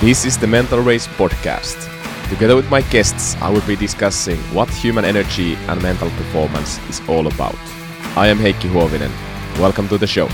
This is the Mental Race podcast. Together with my guests, I will be discussing what human energy and mental performance is all about. I am Heikki Huovinen. Welcome to the show.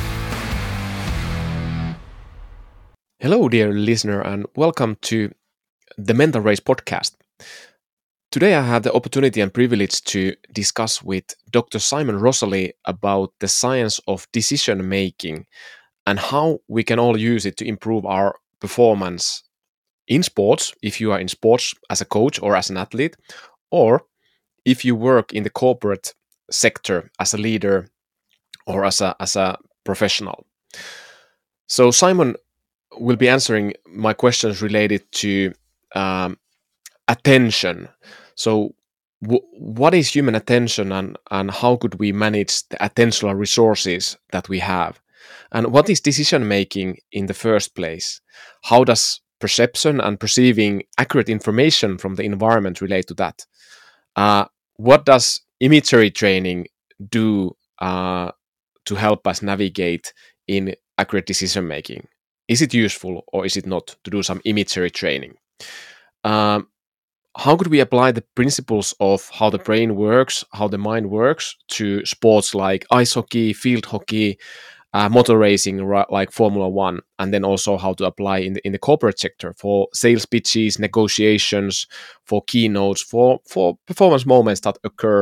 Hello, dear listener, and welcome to the Mental Race podcast. Today I have the opportunity and privilege to discuss with Dr. Simon Rosalie about the science of decision making and how we can all use it to improve our performance in sports, if you are in sports as a coach or as an athlete, or if you work in the corporate sector as a leader or as a professional. So Simon will be answering my questions related to attention. So what is human attention and how could we manage the attentional resources that we have? And what is decision making in the first place? How does perception and perceiving accurate information from the environment relate to that? What does imagery training do to help us navigate in accurate decision making? Is it useful or is it not to do some imagery training? How could we apply the principles of how the brain works, how the mind works to sports like ice hockey, field hockey, motor racing like Formula One, and then also how to apply in the corporate sector for sales pitches, negotiations, for keynotes, for performance moments that occur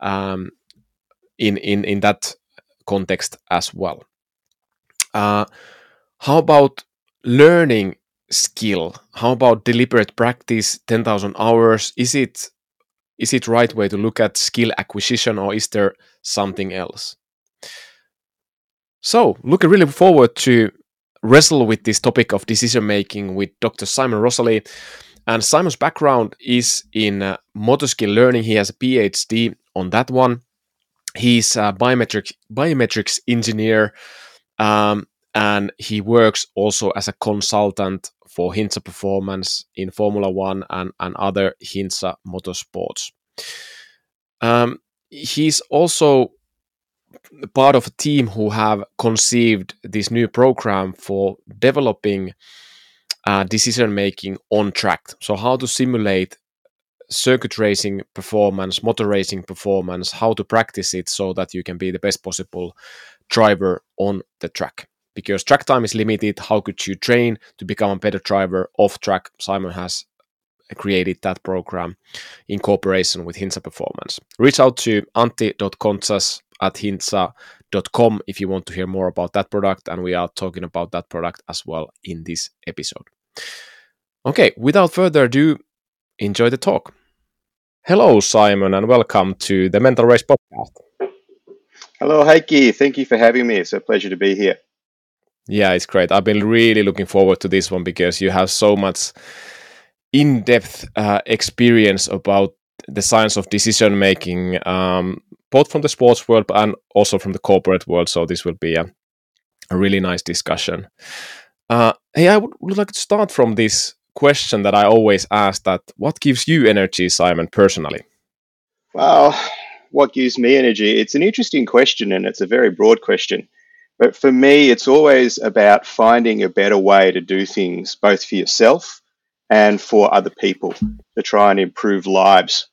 in that context as well. How about learning skill? How about deliberate practice, 10,000 hours? Is it right way to look at skill acquisition, or is there something else? So, looking really forward to wrestle with this topic of decision making with Dr. Simon Rosalie. And Simon's background is in motor skill learning. He has a PhD on that one. He's a biometrics engineer, and he works also as a consultant for Hintsa Performance in Formula One and other Hintsa motorsports. He's also part of a team who have conceived this new program for developing decision making on track. So how to simulate circuit racing performance, motor racing performance, how to practice it so that you can be the best possible driver on the track. Because track time is limited, how could you train to become a better driver off track? Simon has created that program in cooperation with Hintsa Performance. Reach out to antti.kontsas@hintsa.com if you want to hear more about that product, and we are talking about that product as well in this episode. Okay, without further ado, enjoy the talk. Hello, Simon, and welcome to the Mental Race podcast. Hello, Heikki. Thank you for having me. It's a pleasure to be here. Yeah, it's great. I've been really looking forward to this one because you have so much in-depth experience about the science of decision making, both from the sports world and also from the corporate world. So this will be a really nice discussion. Hey, I would like to start from this question that I always ask: that what gives you energy, Simon, personally? Well, what gives me energy? It's an interesting question, and it's a very broad question. But for me, it's always about finding a better way to do things, both for yourself and for other people, to try and improve lives.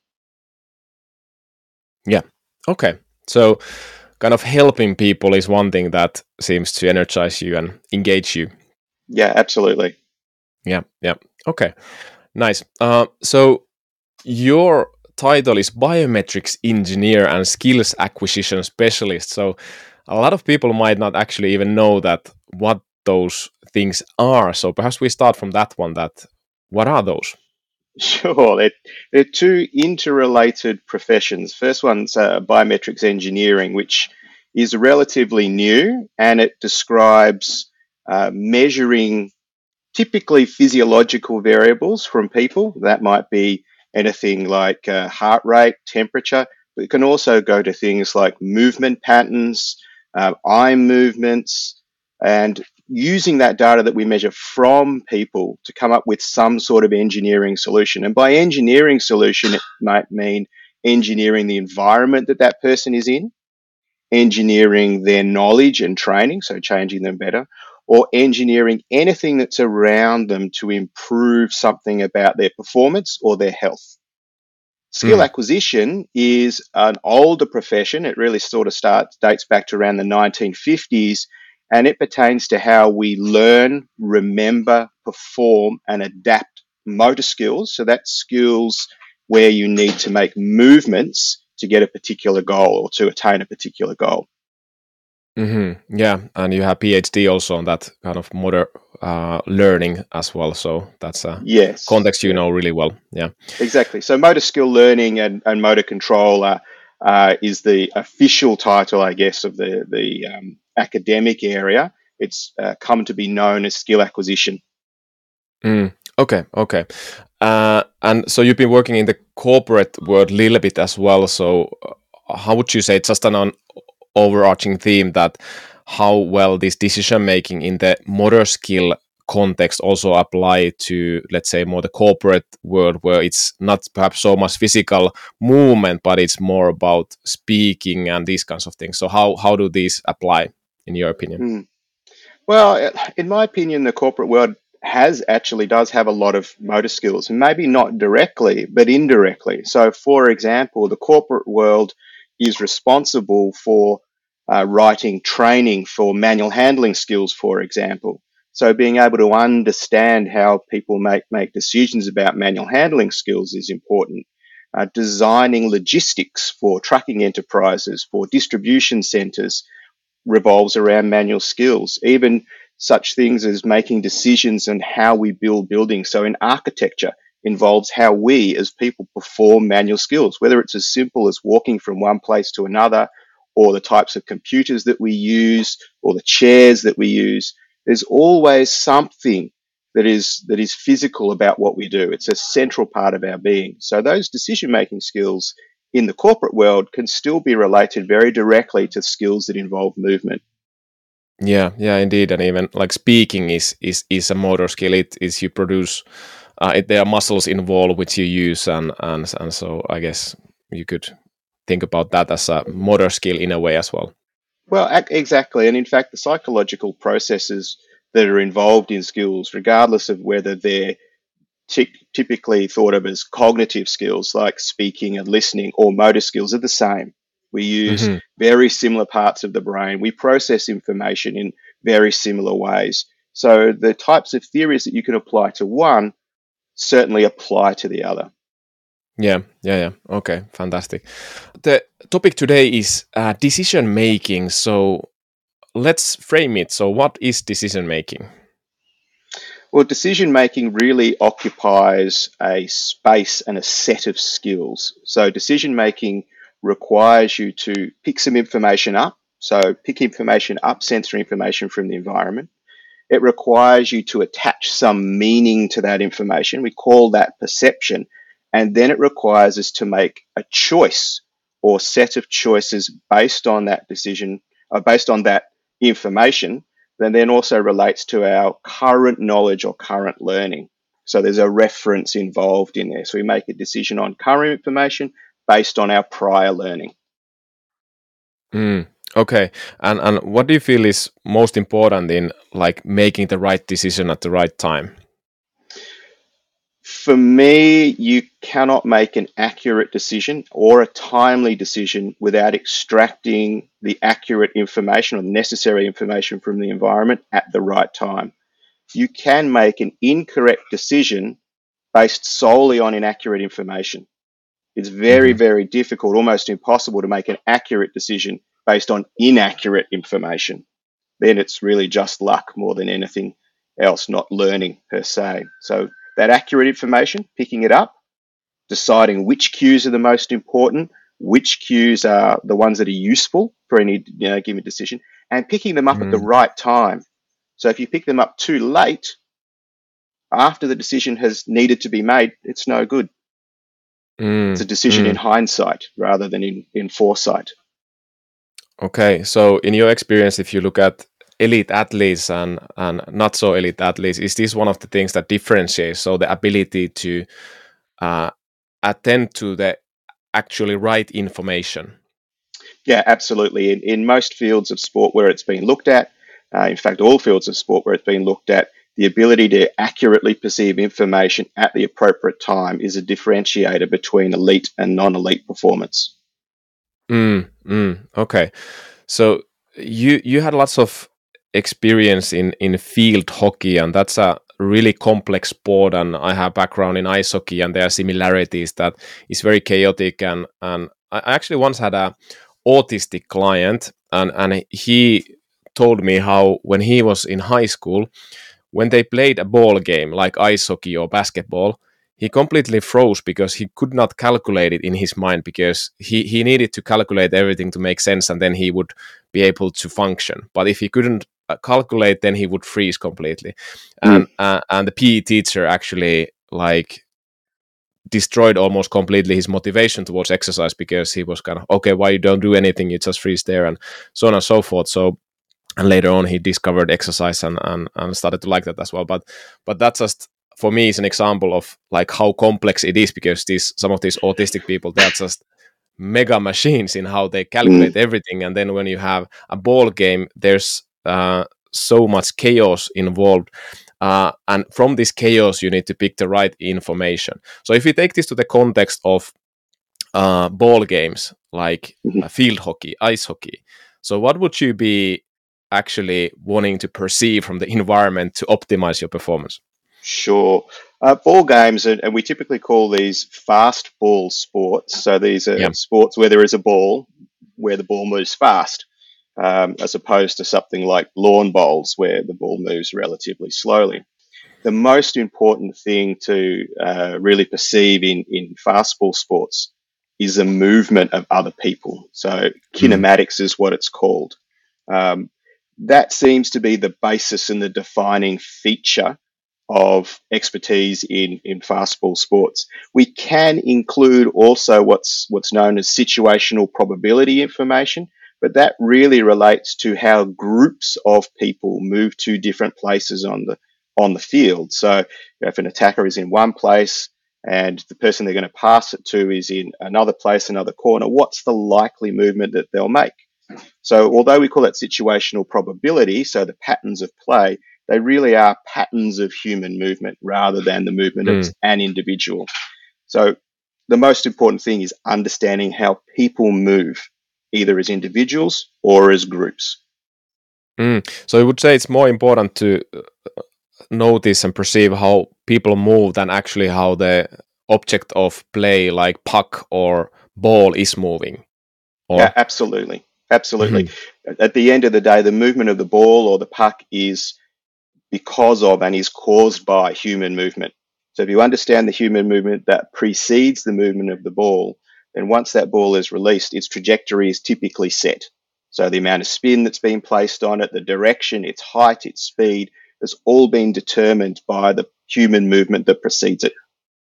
Yeah. Okay. So kind of helping people is one thing that seems to energize you and engage you. Yeah, absolutely. Yeah. Okay. Nice. So your title is biometrics engineer and skills acquisition specialist. So a lot of people might not actually even know that what those things are. So perhaps we start from that one. That what are those? Sure. They're two interrelated professions. First one's biometrics engineering, which is relatively new, and it describes measuring typically physiological variables from people. That might be anything like heart rate, temperature. But it can also go to things like movement patterns, eye movements, and using that data that we measure from people to come up with some sort of engineering solution. And by engineering solution, it might mean engineering the environment that person is in, engineering their knowledge and training, so changing them better, or engineering anything that's around them to improve something about their performance or their health. Skill Mm. acquisition is an older profession. It really sort of dates back to around the 1950s, and it pertains to how we learn, remember, perform, and adapt motor skills. So that's skills where you need to make movements to get a particular goal or to attain a particular goal. Yeah, and you have PhD also on that kind of motor learning as well. So that's a Yes, context you yeah, know really well. Yeah. exactly. So motor skill learning and motor control is the official title, I guess, of the academic area. It's come to be known as skill acquisition. Okay, okay. And so you've been working in the corporate world a little bit as well. So how would you say, just an overarching theme, that how well this decision making in the motor skill context also apply to, let's say, more the corporate world, where it's not perhaps so much physical movement, but it's more about speaking and these kinds of things. So how do these apply in your opinion? Hmm. Well, in my opinion, the corporate world does have a lot of motor skills, and maybe not directly, but indirectly. So, for example, the corporate world is responsible for writing training for manual handling skills, for example. So, being able to understand how people make decisions about manual handling skills is important. Designing logistics for trucking enterprises, for distribution centers, revolves around manual skills, even such things as making decisions on how we build buildings. So in architecture involves how we as people perform manual skills, whether it's as simple as walking from one place to another, or the types of computers that we use, or the chairs that we use. There's always something that is physical about what we do. It's a central part of our being. So those decision making skills in the corporate world can still be related very directly to skills that involve movement. Yeah, yeah, indeed, and even like speaking is a motor skill. It is you produce. There are muscles involved which you use, and so I guess you could think about that as a motor skill in a way as well. Well, exactly. And in fact, the psychological processes that are involved in skills, regardless of whether they're typically thought of as cognitive skills like speaking and listening, or motor skills, are the same. We use Hmm. very similar parts of the brain. We process information in very similar ways. So the types of theories that you can apply to one certainly apply to the other. Yeah, yeah, yeah. Okay, fantastic. The topic today is decision making. So let's frame it. So what is decision making? Well, decision making really occupies a space and a set of skills. So, decision making requires you to pick some information up. So, pick information up, sensory information from the environment. It requires you to attach some meaning to that information. We call that perception. And then it requires us to make a choice or set of choices based on that decision, or based on that information, that then also relates to our current knowledge or current learning. So there's a reference involved in there. So we make a decision on current information based on our prior learning. Mm, okay, and what do you feel is most important in like making the right decision at the right time? For me, you cannot make an accurate decision or a timely decision without extracting the accurate information or necessary information from the environment at the right time. You can make an incorrect decision based solely on inaccurate information. It's very, Hmm. very difficult, almost impossible, to make an accurate decision based on inaccurate information. Then it's really just luck more than anything else, not learning per se. So that accurate information, picking it up, deciding which cues are the most important, which cues are the ones that are useful for any given decision, and picking them up at the Mm, right time. So if you pick them up too late, after the decision has needed to be made, it's no good. It's a mm, decision in mm. hindsight rather than in foresight. Okay, so in your experience, if you look at elite athletes and not so elite athletes, is this one of the things that differentiates? So the ability to uh, attend to the actually right information. Yeah, absolutely. In most fields of sport where it's been looked at, in fact, all fields of sport where it's been looked at, the ability to accurately perceive information at the appropriate time is a differentiator between elite and non-elite performance. Okay. So you had lots of experience in field hockey, and that's a really complex sport. And I have background in ice hockey, and there are similarities that is very chaotic. And I actually once had a autistic client, and he told me how when he was in high school, when they played a ball game like ice hockey or basketball, he completely froze because he could not calculate it in his mind, because he needed to calculate everything to make sense, and then he would be able to function. But if he couldn't calculate, then he would freeze completely. And the PE teacher actually like destroyed almost completely his motivation towards exercise, because he was kind of, okay, why you don't do anything, you just freeze there, and so on and so forth. So, and later on he discovered exercise and started to like that as well. But that's just, for me, is an example of like how complex it is, because some of these autistic people, they're just mega machines in how they calculate everything. And then when you have a ball game, there's so much chaos involved, and from this chaos you need to pick the right information. So if you take this to the context of ball games like field hockey, ice hockey, so what would you be actually wanting to perceive from the environment to optimize your performance? Sure. Ball games, and we typically call these fast ball sports. So these are sports where there is a ball, where the ball moves fast, as opposed to something like lawn bowls, where the ball moves relatively slowly. The most important thing to really perceive in fast ball sports is the movement of other people. So kinematics is what it's called. That seems to be the basis and the defining feature of expertise in fastball sports. We can include also what's known as situational probability information, but that really relates to how groups of people move to different places on the field. So if an attacker is in one place and the person they're going to pass it to is in another place, another corner, what's the likely movement that they'll make? So although we call it situational probability, so the patterns of play, they really are patterns of human movement rather than the movement of an individual. So the most important thing is understanding how people move, either as individuals or as groups. So I would say it's more important to notice and perceive how people move than actually how the object of play, like puck or ball, is moving. Yeah, absolutely. At the end of the day, the movement of the ball or the puck is because of and is caused by human movement. So if you understand the human movement that precedes the movement of the ball, then once that ball is released, its trajectory is typically set. So the amount of spin that's been placed on it, the direction, its height, its speed, has all been determined by the human movement that precedes it.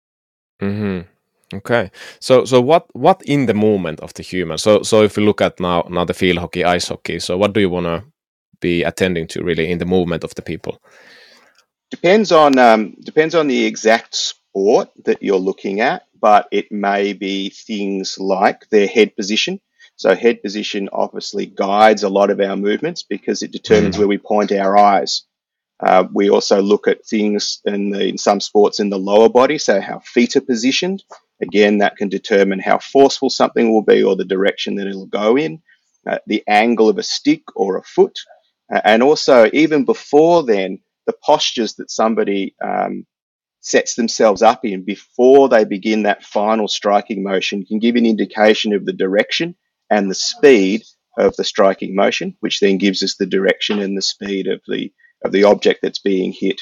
Okay. So what in the movement of the human? So if you look at now the field hockey, ice hockey, so what do you want to be attending to really in the movement of the people? Depends on the exact sport that you're looking at, but it may be things like their head position. So head position obviously guides a lot of our movements because it determines where we point our eyes. We also look at things in some sports in the lower body, so how feet are positioned. Again, that can determine how forceful something will be or the direction that it'll go in, the angle of a stick or a foot, and also even before then, the postures that somebody sets themselves up in before they begin that final striking motion can give an indication of the direction and the speed of the striking motion, which then gives us the direction and the speed of the object that's being hit.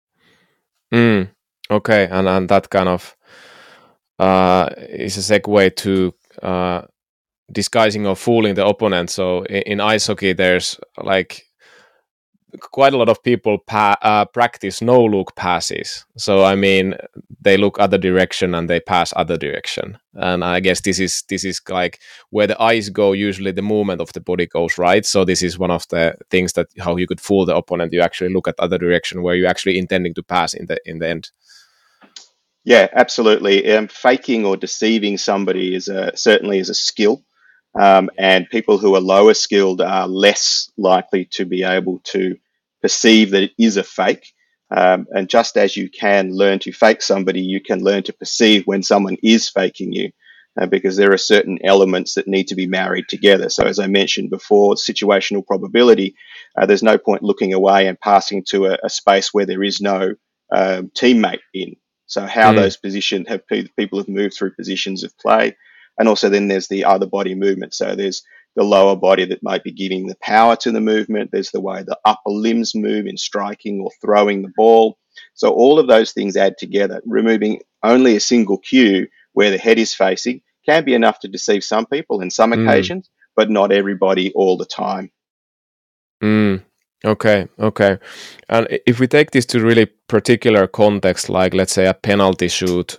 Okay, and that kind of is a segue to disguising or fooling the opponent. So in ice hockey, there's like quite a lot of people practice no look passes. So I mean, they look other direction and they pass other direction. And I guess this is like where the eyes go. Usually, the movement of the body goes right. So this is one of the things that how you could fool the opponent. You actually look at other direction where you actually intending to pass in the end. Yeah, absolutely. Faking or deceiving somebody certainly is a skill. and people who are lower skilled are less likely to be able to perceive that it is a fake. And just as you can learn to fake somebody, you can learn to perceive when someone is faking you, because there are certain elements that need to be married together. So, as I mentioned before, situational probability, there's no point looking away and passing to a space where there is no teammate in. So, how those positions have people have moved through positions of play. And also, then there's the other body movement. So, there's the lower body that might be giving the power to the movement. There's the way the upper limbs move in striking or throwing the ball. So all of those things add together. Removing only a single cue where the head is facing can be enough to deceive some people in some occasions, but not everybody all the time. Okay. And if we take this to really particular context, like let's say a penalty shoot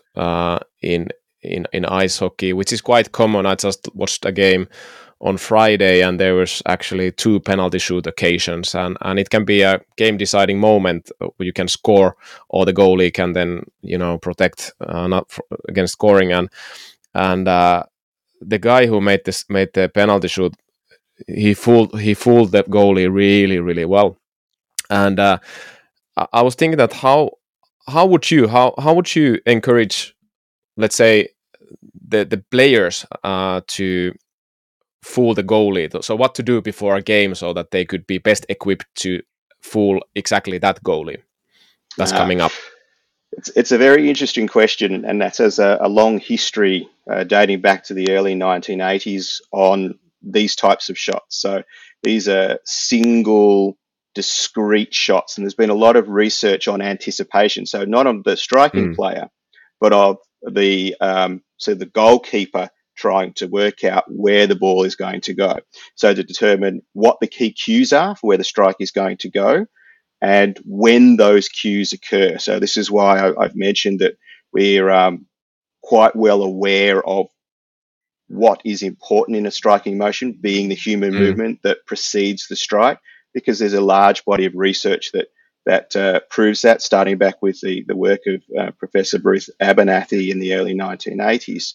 in ice hockey, which is quite common. I just watched a game on Friday, and there was actually 2 penalty shoot occasions, and it can be a game deciding moment where you can score, or the goalie can then protect against scoring, and the guy who made the penalty shoot, he fooled the goalie really, really well. And I was thinking that how would you encourage, let's say, the players to fool the goalie? So what to do before a game so that they could be best equipped to fool exactly that goalie that's coming up? It's a very interesting question, and that has a long history dating back to the early 1980s on these types of shots. So these are single, discrete shots, and there's been a lot of research on anticipation. So not on the striking player, but of the the goalkeeper trying to work out where the ball is going to go. So to determine what the key cues are for where the strike is going to go, and when those cues occur. So this is why I've mentioned that we're quite well aware of what is important in a striking motion, being the human movement that precedes the strike, because there's a large body of research that proves that, starting back with the work of Professor Bruce Abernathy in the early 1980s.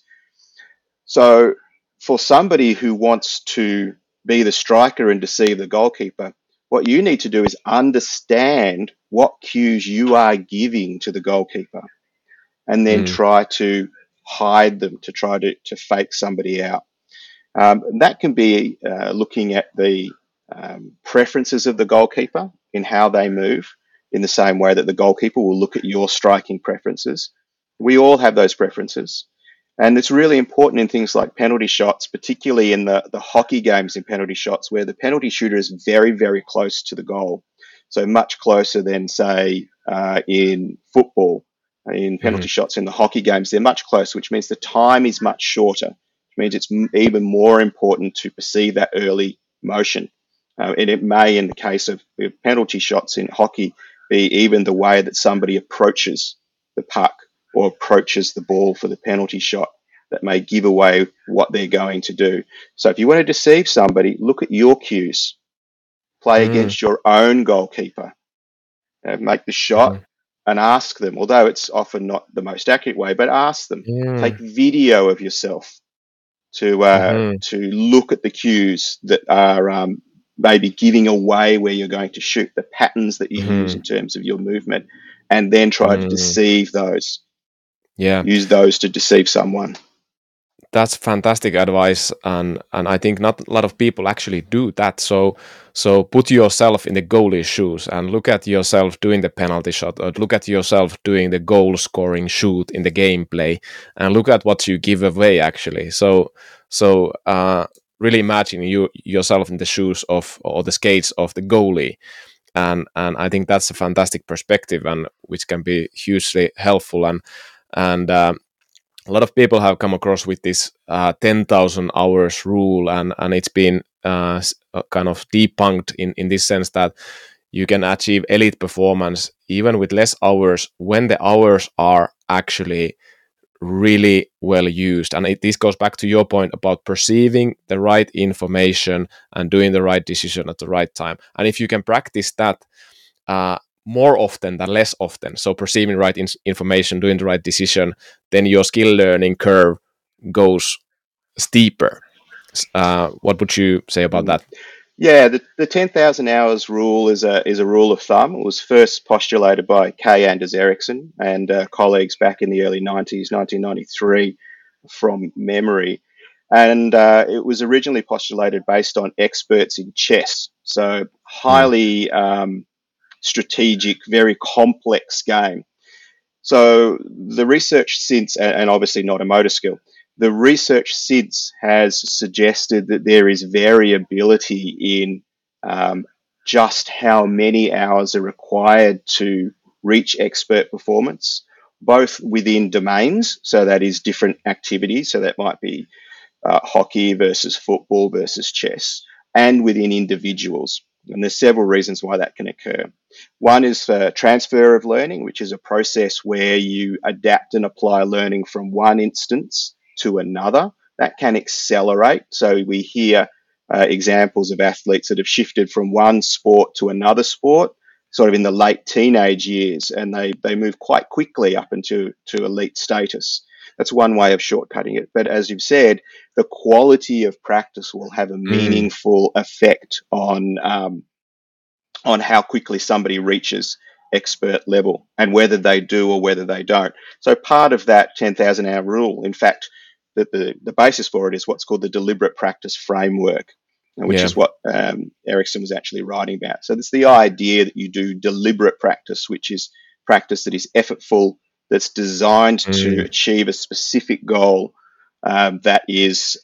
So for somebody who wants to be the striker and deceive the goalkeeper, what you need to do is understand what cues you are giving to the goalkeeper, and then try to hide them, to try to fake somebody out. That can be looking at the preferences of the goalkeeper in how they move, in the same way that the goalkeeper will look at your striking preferences. We all have those preferences. And it's really important in things like penalty shots, particularly in the hockey games in penalty shots, where the penalty shooter is very, very close to the goal. So much closer than, say, in football. In penalty shots in the hockey games, they're much closer, which means the time is much shorter. Which means it's even more important to perceive that early motion. And it may, in the case of penalty shots in hockey, be even the way that somebody approaches the puck or approaches the ball for the penalty shot that may give away what they're going to do. So if you want to deceive somebody, look at your cues. Play against your own goalkeeper. Make the shot and ask them, although it's often not the most accurate way, but ask them. Take video of yourself to look at the cues that are maybe giving away where you're going to shoot, the patterns that you use in terms of your movement, and then try to deceive those. Use those to deceive someone. That's fantastic advice, and I think not a lot of people actually do that. So put yourself in the goalie's shoes and look at yourself doing the penalty shot, or look at yourself doing the goal scoring shoot in the gameplay, and look at what you give away actually. So really imagine yourself in the shoes of, or the skates of, the goalie. And I think that's a fantastic perspective, and which can be hugely helpful. And a lot of people have come across with this 10,000 hours rule, and it's been kind of debunked in this sense that you can achieve elite performance even with less hours when the hours are actually really well used. And this goes back to your point about perceiving the right information and doing the right decision at the right time. And if you can practice that more often than less often, so perceiving right information, doing the right decision, then your skill learning curve goes steeper. What would you say about Mm. that? Yeah, the 10,000 hours rule is a rule of thumb. It was first postulated by K. Anders Ericsson and colleagues back in the early 90s, 1993, from memory. And it was originally postulated based on experts in chess. So, Mm, highly strategic, very complex game. So the research since, and obviously not a motor skill, the research since has suggested that there is variability in um, just how many hours are required to reach expert performance, both within domains, so that is different activities, so that might be hockey versus football versus chess, and within individuals. And there's several reasons why that can occur. One is for transfer of learning, which is a process where you adapt and apply learning from one instance to another. That can accelerate. So we hear examples of athletes that have shifted from one sport to another sport, sort of in the late teenage years, and they move quite quickly up into elite status. That's one way of shortcutting it. But as you've said, the quality of practice will have a mm, meaningful effect on how quickly somebody reaches expert level and whether they do or whether they don't. So part of that 10,000 hour rule, in fact, the basis for it is what's called the deliberate practice framework, which yeah. is what Ericsson was actually writing about. So it's the idea that you do deliberate practice, which is practice that is effortful, that's designed to Mm, achieve a specific goal that is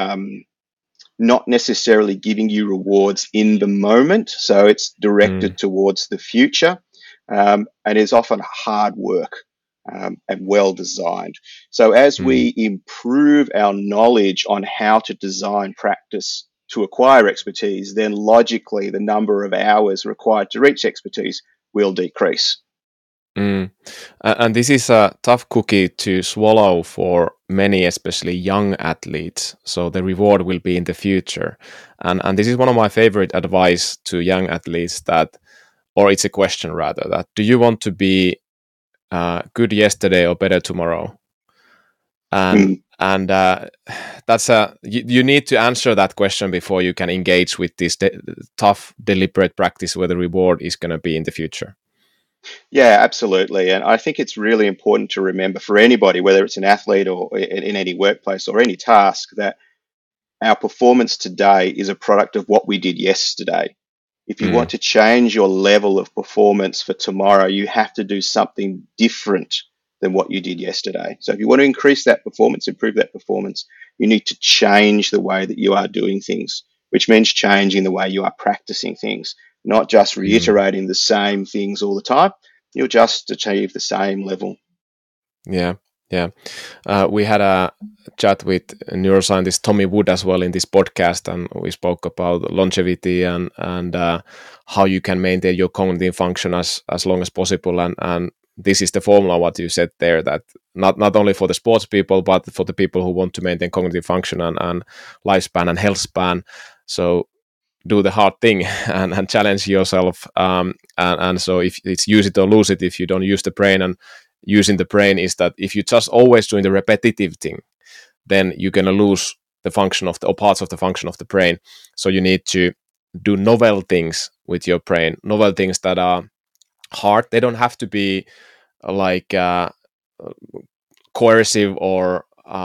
not necessarily giving you rewards in the moment. So it's mm, directed towards the future and is often hard work and well designed. So as mm. we improve our knowledge on how to design practice to acquire expertise, then logically the number of hours required to reach expertise will decrease. Mm. And this is a tough cookie to swallow for many, especially young athletes. So the reward will be in the future. And this is one of my favorite advice to young athletes that, or it's a question rather, that do you want to be good yesterday or better tomorrow? And Mm. and that's you need to answer that question before you can engage with this tough, deliberate practice where the reward is going to be in the future. Yeah, absolutely. And I think it's really important to remember for anybody, whether it's an athlete or in any workplace or any task, that our performance today is a product of what we did yesterday. If you want Mm, to change your level of performance for tomorrow, you have to do something different than what you did yesterday. So if you want to increase that performance, improve that performance, you need to change the way that you are doing things, which means changing the way you are practicing things, not just mm. reiterating the same things all the time. You'll just achieve the same level. Yeah, yeah. We had a chat with neuroscientist Tommy Wood as well in this podcast, and we spoke about longevity and how you can maintain your cognitive function as long as possible. And this is the formula what you said there, that not only for the sports people but for the people who want to maintain cognitive function and lifespan and health span. So do the hard thing and challenge yourself. And so if it's use it or lose it, if you don't use the brain, and using the brain is that if you just always doing the repetitive thing, then you're going to lose the function of the or parts of the function of the brain. So you need to do novel things with your brain, novel things that are hard. They don't have to be like coercive or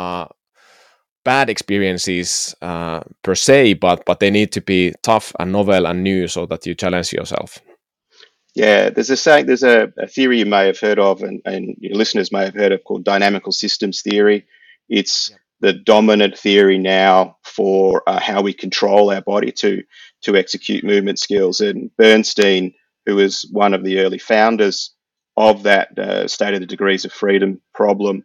bad experiences per se, but they need to be tough and novel and new so that you challenge yourself. Yeah, there's a saying, there's a theory you may have heard of, and your listeners may have heard of, called dynamical systems theory. It's Yep. the dominant theory now for how we control our body to execute movement skills. And Bernstein, who was one of the early founders of that state of the degrees of freedom problem,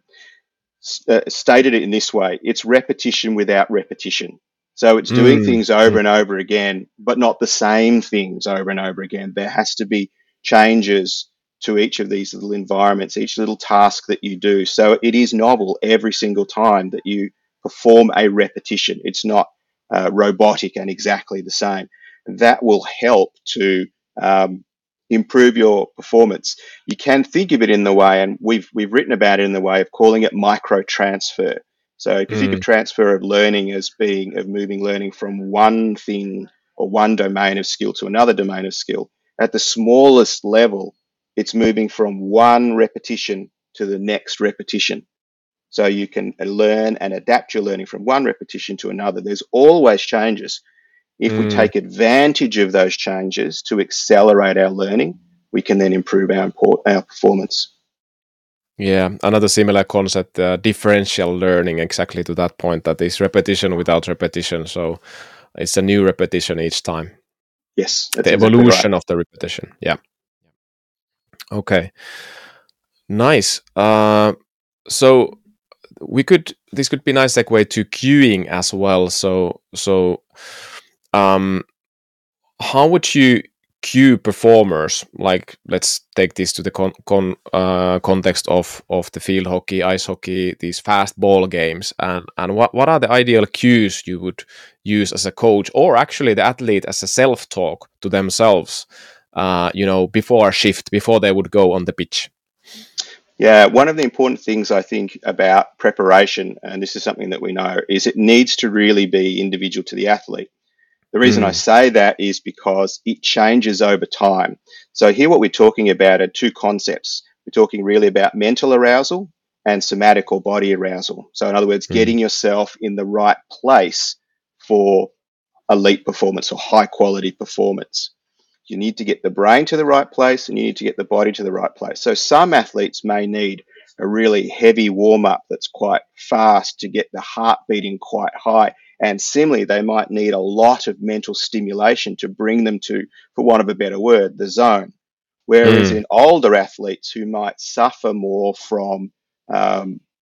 stated it in this way: it's repetition without repetition. So it's doing Mm, things over mm, and over again, but not the same things over and over again. There has to be changes to each of these little environments, each little task that you do. So it is novel every single time that you perform a repetition. It's not robotic and exactly the same. That will help to um, improve your performance. You can think of it in the way, and we've written about it in the way of calling it micro transfer. So if you think of Mm, transfer of learning as being of moving learning from one thing or one domain of skill to another domain of skill, at the smallest level, it's moving from one repetition to the next repetition. So you can learn and adapt your learning from one repetition to another. There's always changes. If we mm. take advantage of those changes to accelerate our learning, we can then improve our performance. Yeah, another similar concept, differential learning, exactly to that point, that is repetition without repetition. So it's a new repetition each time. Yes, that's The exactly right. evolution of the repetition. Yeah. Okay. Nice. So this could be a nice segue to queuing as well. Um, how would you cue performers? Like, let's take this to the context of the field hockey, ice hockey, these fast ball games, and what are the ideal cues you would use as a coach, or actually the athlete as a self talk to themselves, before a shift, before they would go on the pitch. Yeah, one of the important things I think about preparation, and this is something that we know, is it needs to really be individual to the athlete. The reason I Mm, say that is because it changes over time. So, here what we're talking about are two concepts. We're talking really about mental arousal and somatic or body arousal. So, in other words, mm, getting yourself in the right place for elite performance or high quality performance. You need to get the brain to the right place and you need to get the body to the right place. So some athletes may need a really heavy warm up that's quite fast to get the heart beating quite high. And similarly, they might need a lot of mental stimulation to bring them to, for want of a better word, the zone. Whereas mm, in older athletes who might suffer more from um,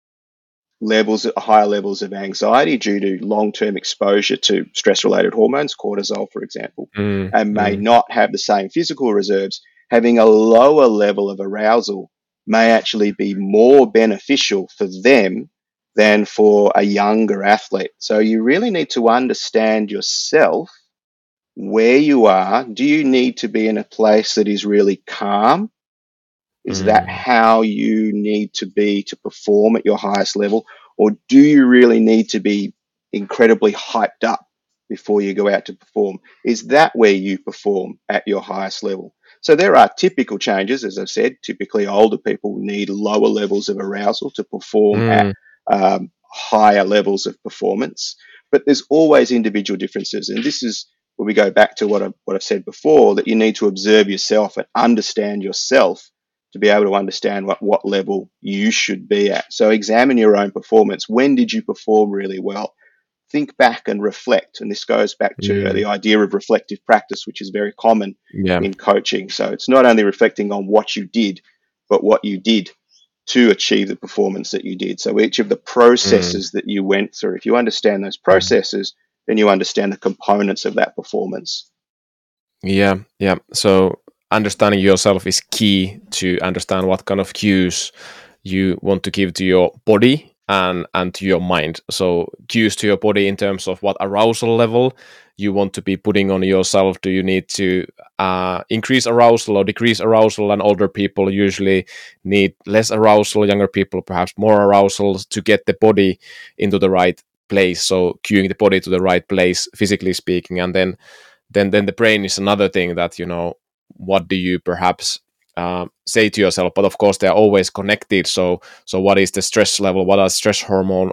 higher levels of anxiety due to long-term exposure to stress-related hormones, cortisol, for example, mm, and may mm, not have the same physical reserves, having a lower level of arousal may actually be more beneficial for them than for a younger athlete. So you really need to understand yourself, where you are. Do you need to be in a place that is really calm? Is that mm, how you need to be to perform at your highest level? Or do you really need to be incredibly hyped up before you go out to perform? Is that where you perform at your highest level? So there are typical changes, as I've said. Typically, older people need lower levels of arousal to perform at mm, higher levels of performance. But there's always individual differences. And this is where we go back to what I've said before, that you need to observe yourself and understand yourself to be able to understand what level you should be at. So examine your own performance. When did you perform really well? Think back and reflect. And this goes back to mm. the idea of reflective practice, which is very common Yeah. in coaching. So it's not only reflecting on what you did, but what you did to achieve the performance that you did. So each of the Mm, processes that you went through, if you understand those mm. processes, then you understand the components of that performance. Yeah, yeah. So understanding yourself is key to understand what kind of cues you want to give to your body and to your mind. So cues to your body in terms of what arousal level you want to be putting on yourself. Do you need to increase arousal or decrease arousal? And older people usually need less arousal. Younger people perhaps more arousal to get the body into the right place. So cueing the body to the right place, physically speaking, and then the brain is another thing that what do you perhaps say to yourself, but of course they're always connected. So what is the stress level, what are stress hormone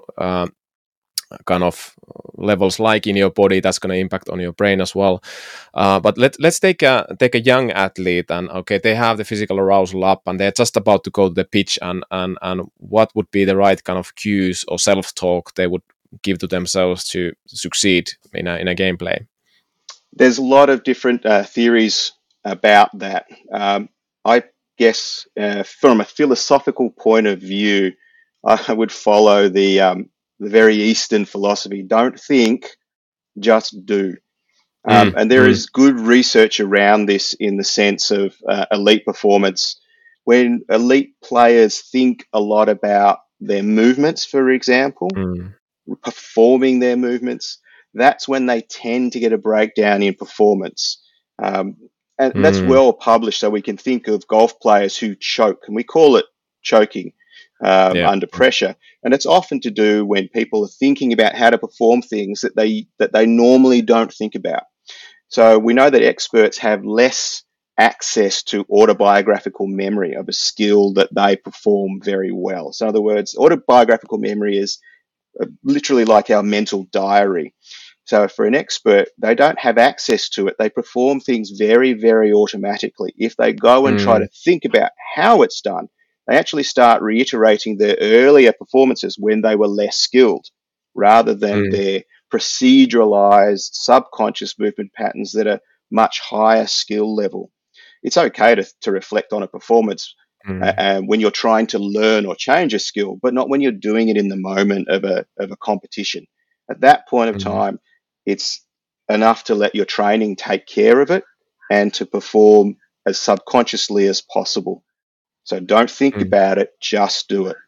kind of levels like in your body? That's going to impact on your brain as well. But let's take a young athlete, and okay, they have the physical arousal up and they're just about to go to the pitch, and what would be the right kind of cues or self-talk they would give to themselves to succeed in a gameplay? There's a lot of different theories about that. I guess from a philosophical point of view, I would follow the very Eastern philosophy. Don't think, just do. Mm, And there mm, is good research around this in the sense of elite performance. When elite players think a lot about their movements, for example, mm. performing their movements, that's when they tend to get a breakdown in performance. Um, and that's Mm, well published. So we can think of golf players who choke, and we call it choking. Yeah. under pressure. And it's often to do when people are thinking about how to perform things that they normally don't think about. So we know that experts have less access to autobiographical memory of a skill that they perform very well. So in other words, autobiographical memory is literally like our mental diary. So for an expert, they don't have access to it. They perform things very, very automatically. If they go and try Mm, to think about how it's done, they actually start reiterating their earlier performances when they were less skilled, rather than mm, their proceduralized subconscious movement patterns that are much higher skill level. It's okay to reflect on a performance mm, when you're trying to learn or change a skill, but not when you're doing it in the moment of a competition. At that point of mm, time, it's enough to let your training take care of it and to perform as subconsciously as possible. So don't think mm, about it, just do it.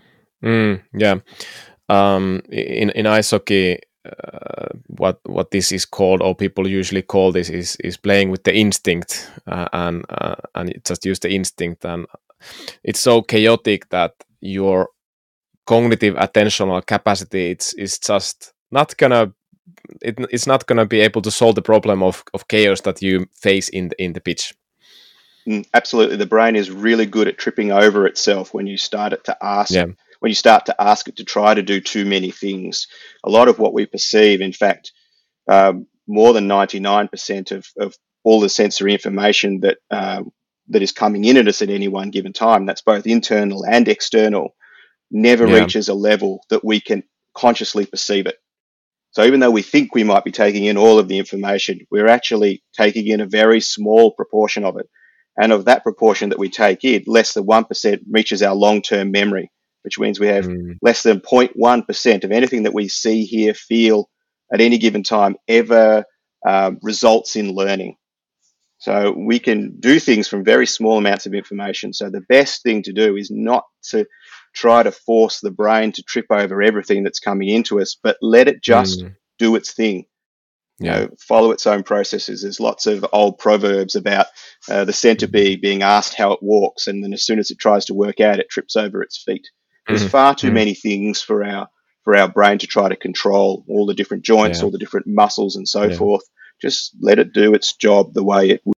yeah. In ice hockey, what this is called, or people usually call this, is playing with the instinct, and just use the instinct, and it's so chaotic that your cognitive attentional capacity it's just not gonna it's not gonna be able to solve the problem of chaos that you face in the pitch. Absolutely, the brain is really good at tripping over itself Yeah. when you start to ask it to try to do too many things. A lot of what we perceive, in fact, more than 99% of all the sensory information that is coming in at us at any one given time, that's both internal and external, never Yeah. reaches a level that we can consciously perceive it. So even though we think we might be taking in all of the information, we're actually taking in a very small proportion of it. And of that proportion that we take in, less than 1% reaches our long-term memory, which means we have Mm, less than 0.1% of anything that we see, hear, feel at any given time ever results in learning. So we can do things from very small amounts of information. So the best thing to do is not to try to force the brain to trip over everything that's coming into us, but let it just mm, do its thing. yeah. Follow its own processes. There's lots of old proverbs about the Mm, centipede being asked how it walks, and then as soon as it tries to work out, it trips over its feet. There's mm, far too mm, many things for our brain to try to control, all the different joints, yeah. all the different muscles, and so Yeah. forth. Just let it do its job the way it.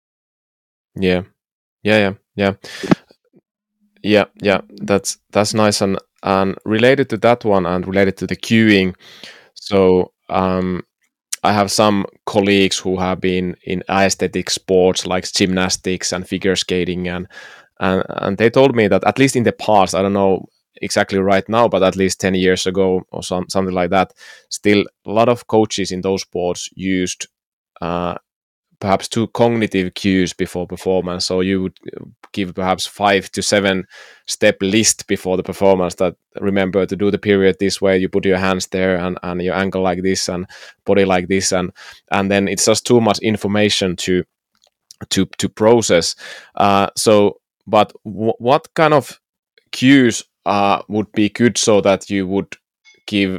Yeah. Yeah. Yeah. Yeah. Yeah. Yeah. That's nice, and related to that one, and related to the queuing. So I have some colleagues who have been in aesthetic sports like gymnastics and figure skating, and they told me that at least in the past, I don't know exactly right now, but at least 10 years ago or something like that, still a lot of coaches in those sports used uh, perhaps two cognitive cues before performance. So you would give perhaps 5 to 7 step list before the performance, that remember to do the period this way, you put your hands there, and your ankle like this, and body like this, and then it's just too much information to process. So but what kind of cues would be good, so that you would give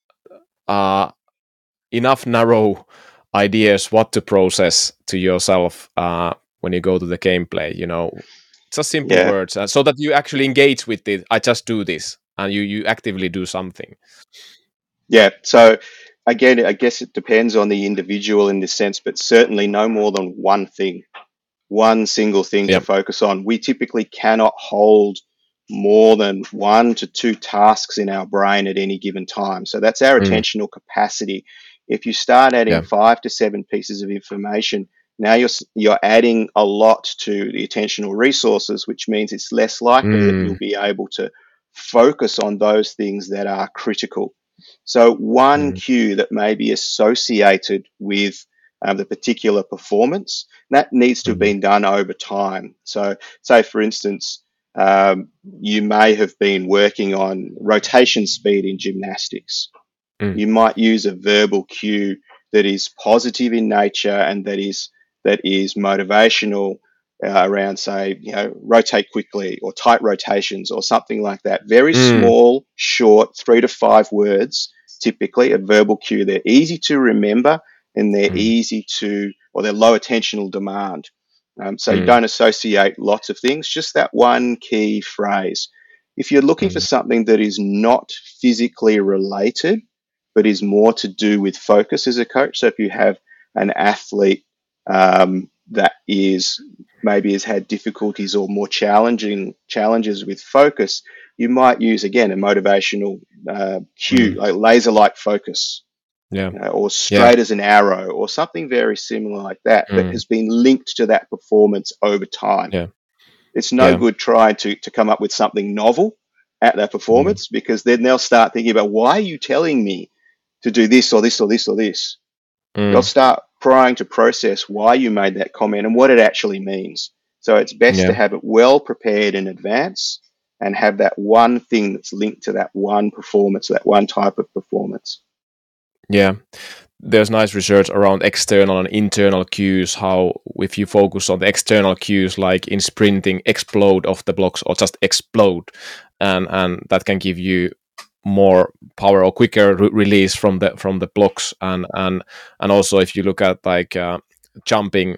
uh, enough narrow ideas what to process to yourself when you go to the gameplay, just simple Yeah, words, so that you actually engage with it. I just do this, and you actively do something. yeah. So again, I guess it depends on the individual in this sense, but certainly no more than one thing, one single thing to Yeah. focus on. We typically cannot hold more than 1 to 2 tasks in our brain at any given time. So that's our Mm, attentional capacity. If you start adding yeah. 5 to 7 pieces of information, now you're adding a lot to the attentional resources, which means it's less likely that you'll Mm, be able to focus on those things that are critical. So one mm, cue that may be associated with the particular performance, that needs to have mm, been done over time. So, say for instance, you may have been working on rotation speed in gymnastics. mm, You might use a verbal cue that is positive in nature and that is motivational around, say, rotate quickly or tight rotations or something like that. Very mm, small, short, 3 to 5 words, typically a verbal cue. They're easy to remember and mm, they're low attentional demand. So you mm, don't associate lots of things, just that one key phrase. If you're looking for something that is not physically related, but is more to do with focus as a coach, so if you have an athlete that is maybe has had difficulties or more challenges with focus, you might use again a motivational cue, like laser-like focus, Yeah. or Yeah. straight as an arrow, or something very similar like that, that has been linked to that performance over time. Yeah. It's no Yeah. good trying to come up with something novel at that performance, because then they'll start thinking about, why are you telling me to do this or this or this or this? They'll start trying to process why you made that comment and what it actually means. So it's best Yeah. to have it well prepared in advance and have that one thing that's linked to that one performance, that one type of performance. Yeah. There's nice research around external and internal cues, how if you focus on the external cues, like in sprinting, explode off the blocks or just explode, and that can give you more power or quicker release from the blocks, and also if you look at like jumping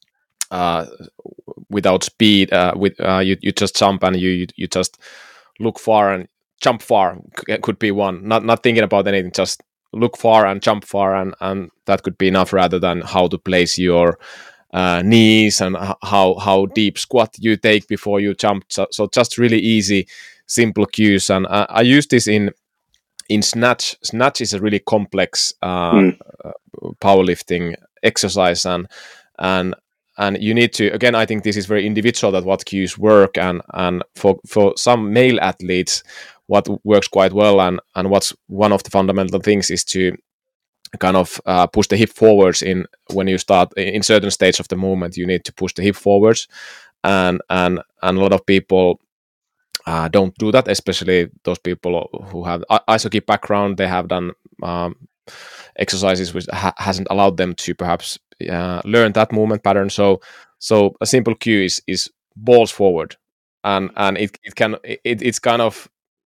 without speed, you just jump and you just look far and jump far, could be one, not thinking about anything, just look far and jump far, and that could be enough, rather than how to place your knees and how deep squat you take before you jump. So just really easy, simple cues. And I use this in snatch. Snatch is a really complex powerlifting exercise, and and you need to, again, I think this is very individual, that what cues work, and for some male athletes what works quite well, and what's one of the fundamental things is to kind of push the hip forwards. In when you start in certain stage of the movement, you need to push the hip forwards, and a lot of people don't do that, especially those people who have ice hockey background. They have done exercises which hasn't allowed them to perhaps learn that movement pattern. So a simple cue is balls forward, and it's kind of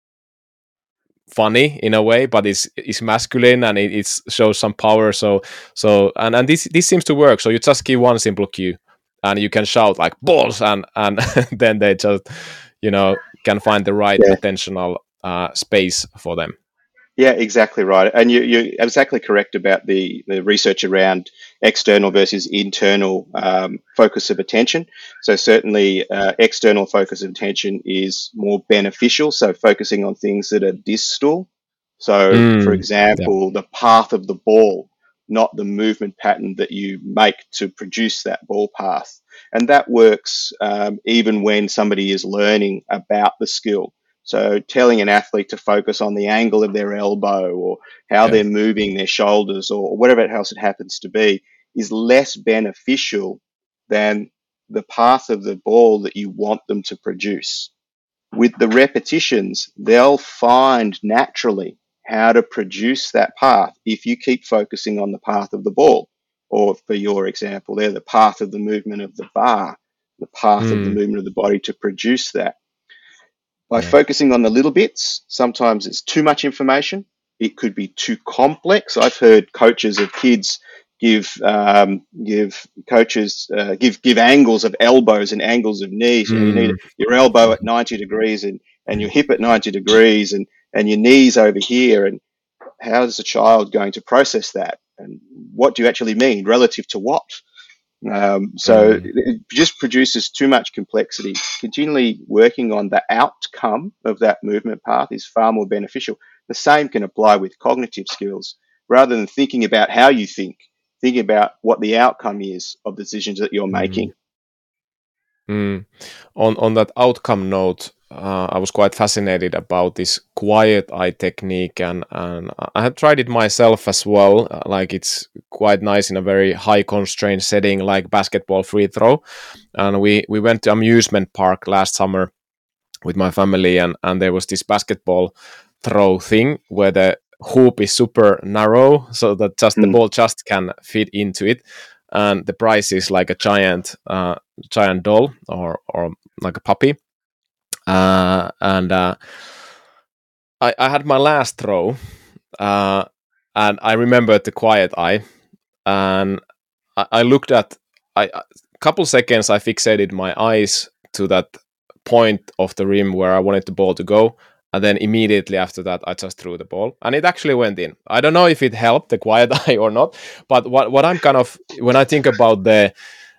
funny in a way, but it's masculine, and it shows some power. And this seems to work. So you just give one simple cue, and you can shout like balls, and then they just can find the right Yeah. attentional space for them. Yeah, exactly right. And you're exactly correct about the research around external versus internal focus of attention. So certainly external focus of attention is more beneficial. So focusing on things that are distal. So for Yeah. example, the path of the ball, not the movement pattern that you make to produce that ball path. And that works even when somebody is learning about the skill. So telling an athlete to focus on the angle of their elbow, or how Yeah. they're moving their shoulders, or whatever else it happens to be, is less beneficial than the path of the ball that you want them to produce. With the repetitions, they'll find naturally how to produce that path if you keep focusing on the path of the ball. Or for your example there, the path of the movement of the bar, the path of the movement of the body to produce that. By Yeah. focusing on the little bits, sometimes it's too much information. It could be too complex. I've heard coaches of kids give angles of elbows and angles of knees. You need your elbow at 90 degrees and your hip at 90 degrees and your knees over here. And how is a child going to process that? And what do you actually mean relative to what? So it just produces too much complexity. Continually working on the outcome of that movement path is far more beneficial. The same can apply with cognitive skills. Rather than thinking about how you think about what the outcome is of the decisions that you're making. On that outcome note, I was quite fascinated about this quiet eye technique, and I have tried it myself as well. Like, it's quite nice in a very high constraint setting, like basketball free throw. And we went to amusement park last summer with my family, and there was this basketball throw thing where the hoop is super narrow, so that just the ball just can fit into it, and the prize is like a giant doll, or like a puppy. And I had my last throw, and I remembered the quiet eye, and I looked at, a couple seconds I fixated my eyes to that point of the rim where I wanted the ball to go. And then immediately after that, I just threw the ball, and it actually went in. I don't know if it helped the quiet eye or not, but what I'm kind of, when I think about the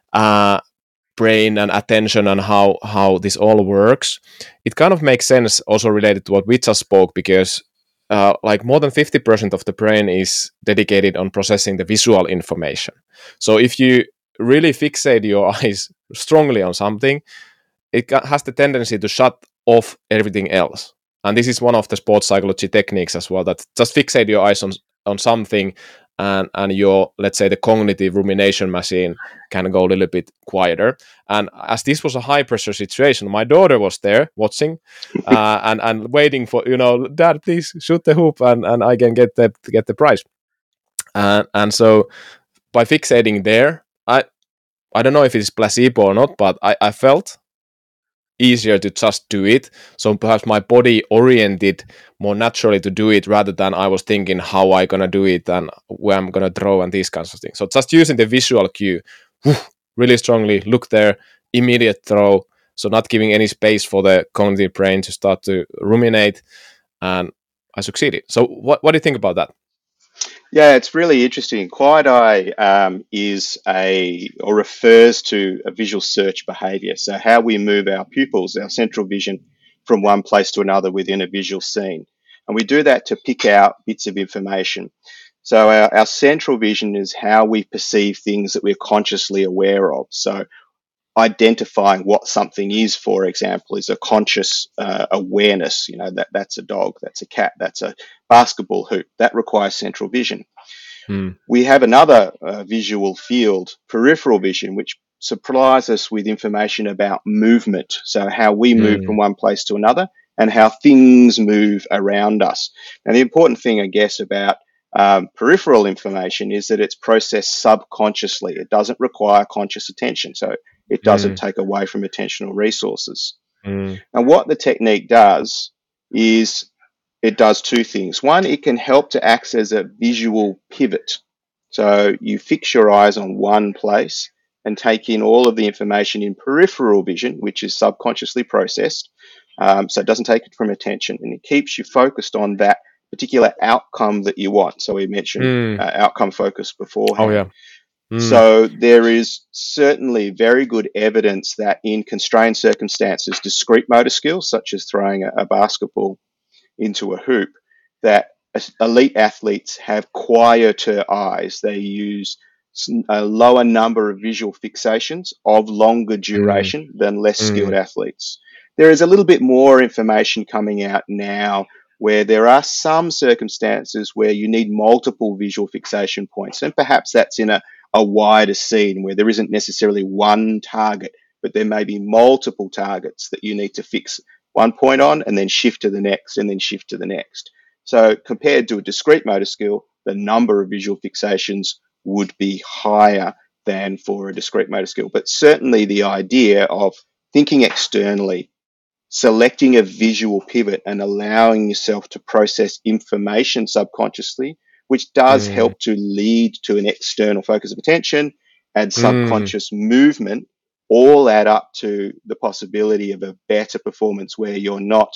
brain and attention and how this all works, it kind of makes sense also related to what we just spoke, because like more than 50% of the brain is dedicated on processing the visual information. So if you really fixate your eyes strongly on something, it has the tendency to shut off everything else. And this is one of the sports psychology techniques as well, that just fixate your eyes on something, and your, let's say, the cognitive rumination machine can go a little bit quieter. And as this was a high pressure situation, my daughter was there watching and waiting for, Dad, please shoot the hoop, and I can get the prize. And so by fixating there, I don't know if it's placebo or not, but I felt easier to just do it. So perhaps my body oriented more naturally to do it, rather than I was thinking how I gonna do it and where I'm gonna throw and these kinds of things. So just using the visual cue really strongly, look there, immediate throw. So not giving any space for the cognitive brain to start to ruminate, and I succeeded. So what do you think about that? Yeah, it's really interesting. Quiet eye is or refers to a visual search behavior. So how we move our pupils, our central vision, from one place to another within a visual scene. And we do that to pick out bits of information. So our central vision is how we perceive things that we're consciously aware of. So identifying what something is, for example, is a conscious awareness. That's a dog, that's a cat, that's a basketball hoop. That requires central vision. We have another visual field, peripheral vision, which supplies us with information about movement. So how we move from one place to another and how things move around us. And the important thing, I guess, about peripheral information is that it's processed subconsciously. It doesn't require conscious attention. So it doesn't take away from attentional resources. And what the technique does is it does two things. One, it can help to act as a visual pivot. So you fix your eyes on one place and take in all of the information in peripheral vision, which is subconsciously processed. So it doesn't take it from attention, and it keeps you focused on that particular outcome that you want. So we mentioned outcome focus beforehand. Oh, yeah. So there is certainly very good evidence that in constrained circumstances, discrete motor skills, such as throwing a basketball into a hoop, that elite athletes have quieter eyes. They use a lower number of visual fixations of longer duration than less skilled athletes. There is a little bit more information coming out now where there are some circumstances where you need multiple visual fixation points, and perhaps that's in a wider scene where there isn't necessarily one target, but there may be multiple targets that you need to fix one point on and then shift to the next and then shift to the next. So compared to a discrete motor skill, the number of visual fixations would be higher than for a discrete motor skill. But certainly the idea of thinking externally, selecting a visual pivot and allowing yourself to process information subconsciously, which does help to lead to an external focus of attention and subconscious movement, all add up to the possibility of a better performance where you're not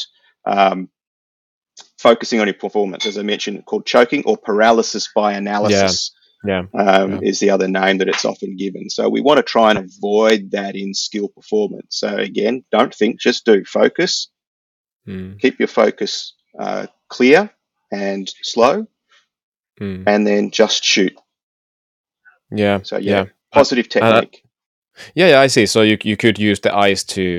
focusing on your performance, as I mentioned, called choking or paralysis by analysis. Is the other name that it's often given. So we want to try and avoid that in skill performance. So again, don't think, just do. Focus. Keep your focus clear and slow, and then just shoot. So positive technique. I see. So you could use the eyes to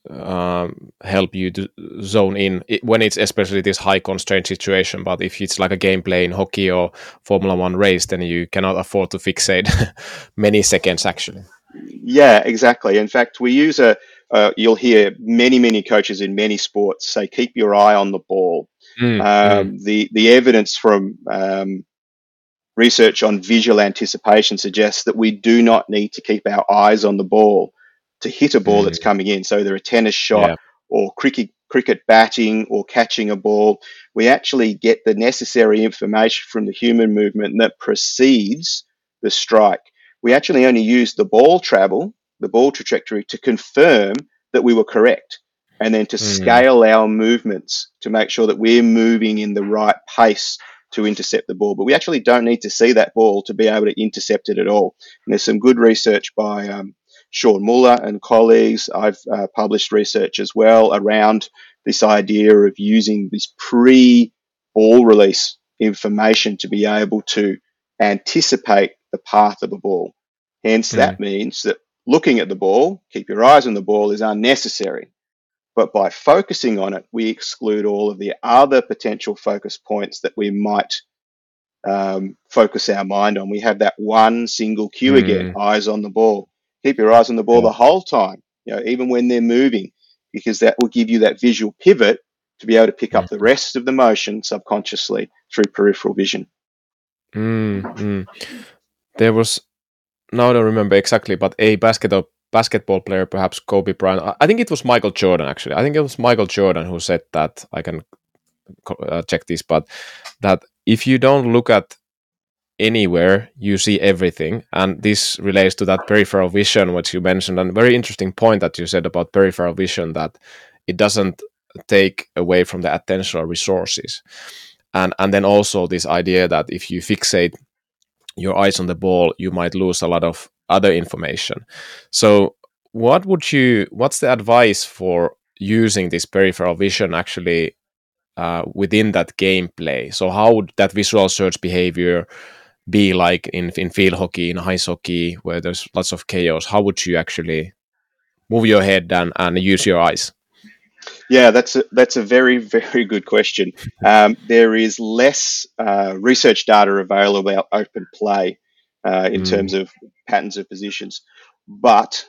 help you to zone in when it's especially this high constraint situation. But if it's like a gameplay in hockey or Formula One race, then you cannot afford to fixate many seconds actually. Yeah, exactly. In fact, we use you'll hear many coaches in many sports say, keep your eye on the ball. The evidence from research on visual anticipation suggests that we do not need to keep our eyes on the ball to hit a ball that's coming in. So either a tennis shot or cricket batting or catching a ball, we actually get the necessary information from the human movement that precedes the strike. We actually only use the ball travel, the ball trajectory, to confirm that we were correct. and then to Mm. scale our movements to make sure that we're moving in the right pace to intercept the ball. But we actually don't need to see that ball to be able to intercept it at all. And there's some good research by Sean Muller and colleagues. I've published research as well around this idea of using this pre-ball release information to be able to anticipate the path of a ball. Hence, Mm. that means that looking at the ball, keep your eyes on the ball, is unnecessary. But by focusing on it, we exclude all of the other potential focus points that we might focus our mind on. We have that one single cue again, Mm. eyes on the ball. Keep your eyes on the ball Yeah. the whole time, even when they're moving, because that will give you that visual pivot to be able to pick up the Mm. rest of the motion subconsciously through peripheral vision. Mm. Mm. There was, now I don't remember exactly, but a basketball player, perhaps Kobe Bryant. I think it was Michael Jordan, actually. I think it was Michael Jordan who said that. I can check this, but that if you don't look at anywhere, you see everything. And this relates to that peripheral vision, what you mentioned, and very interesting point that you said about peripheral vision, that it doesn't take away from the attentional resources. And then also this idea that if you fixate your eyes on the ball, you might lose a lot of other information. So what's the advice for using this peripheral vision actually within that gameplay? So how would that visual search behavior be like in field hockey, in ice hockey, where there's lots of chaos? How would you actually move your head and use your eyes? Yeah, that's a very very good question. There is less research data available about open play in Mm. terms of patterns of positions, but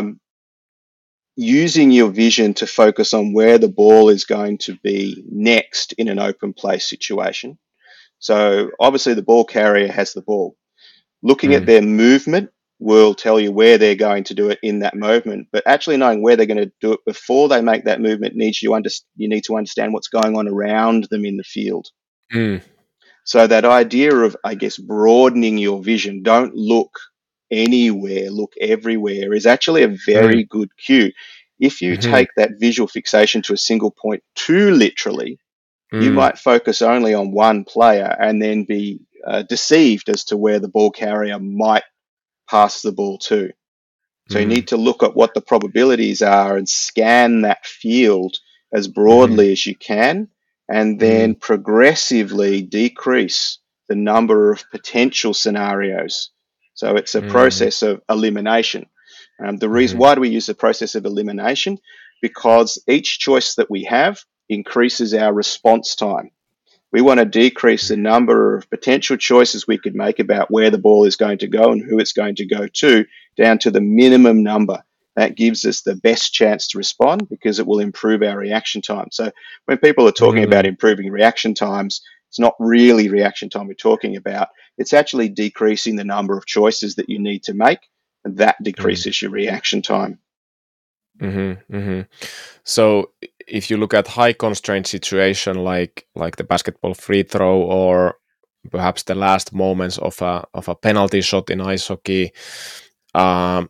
using your vision to focus on where the ball is going to be next in an open play situation. So obviously the ball carrier has the ball. Looking at Mm. their movement will tell you where they're going to do it in that movement, but actually knowing where they're going to do it before they make that movement you need to understand what's going on around them in the field. Mm. So that idea of, I guess, broadening your vision, don't look anywhere, look everywhere, is actually a Mm. very good cue. If you Mm-hmm. take that visual fixation to a single point too literally, you Mm. might focus only on one player and then be deceived as to where the ball carrier might pass the ball to. So you Mm. need to look at what the probabilities are and scan that field as Mm-hmm. broadly as you can, and Mm. then progressively decrease the number of potential scenarios. So it's a Mm. process of elimination. The reason Mm-hmm. why do we use the process of elimination? Because each choice that we have increases our response time. We want to decrease the number of potential choices we could make about where the ball is going to go and who it's going to go to down to the minimum number. That gives us the best chance to respond because it will improve our reaction time. So when people are talking about Mm. improving reaction times, it's not really reaction time we're talking about. It's actually decreasing the number of choices that you need to make, and that Mm. decreases your reaction time. Mm-hmm. Mm-hmm. So if you look at high constraint situation like the basketball free throw, or perhaps the last moments of a penalty shot in ice hockey, um,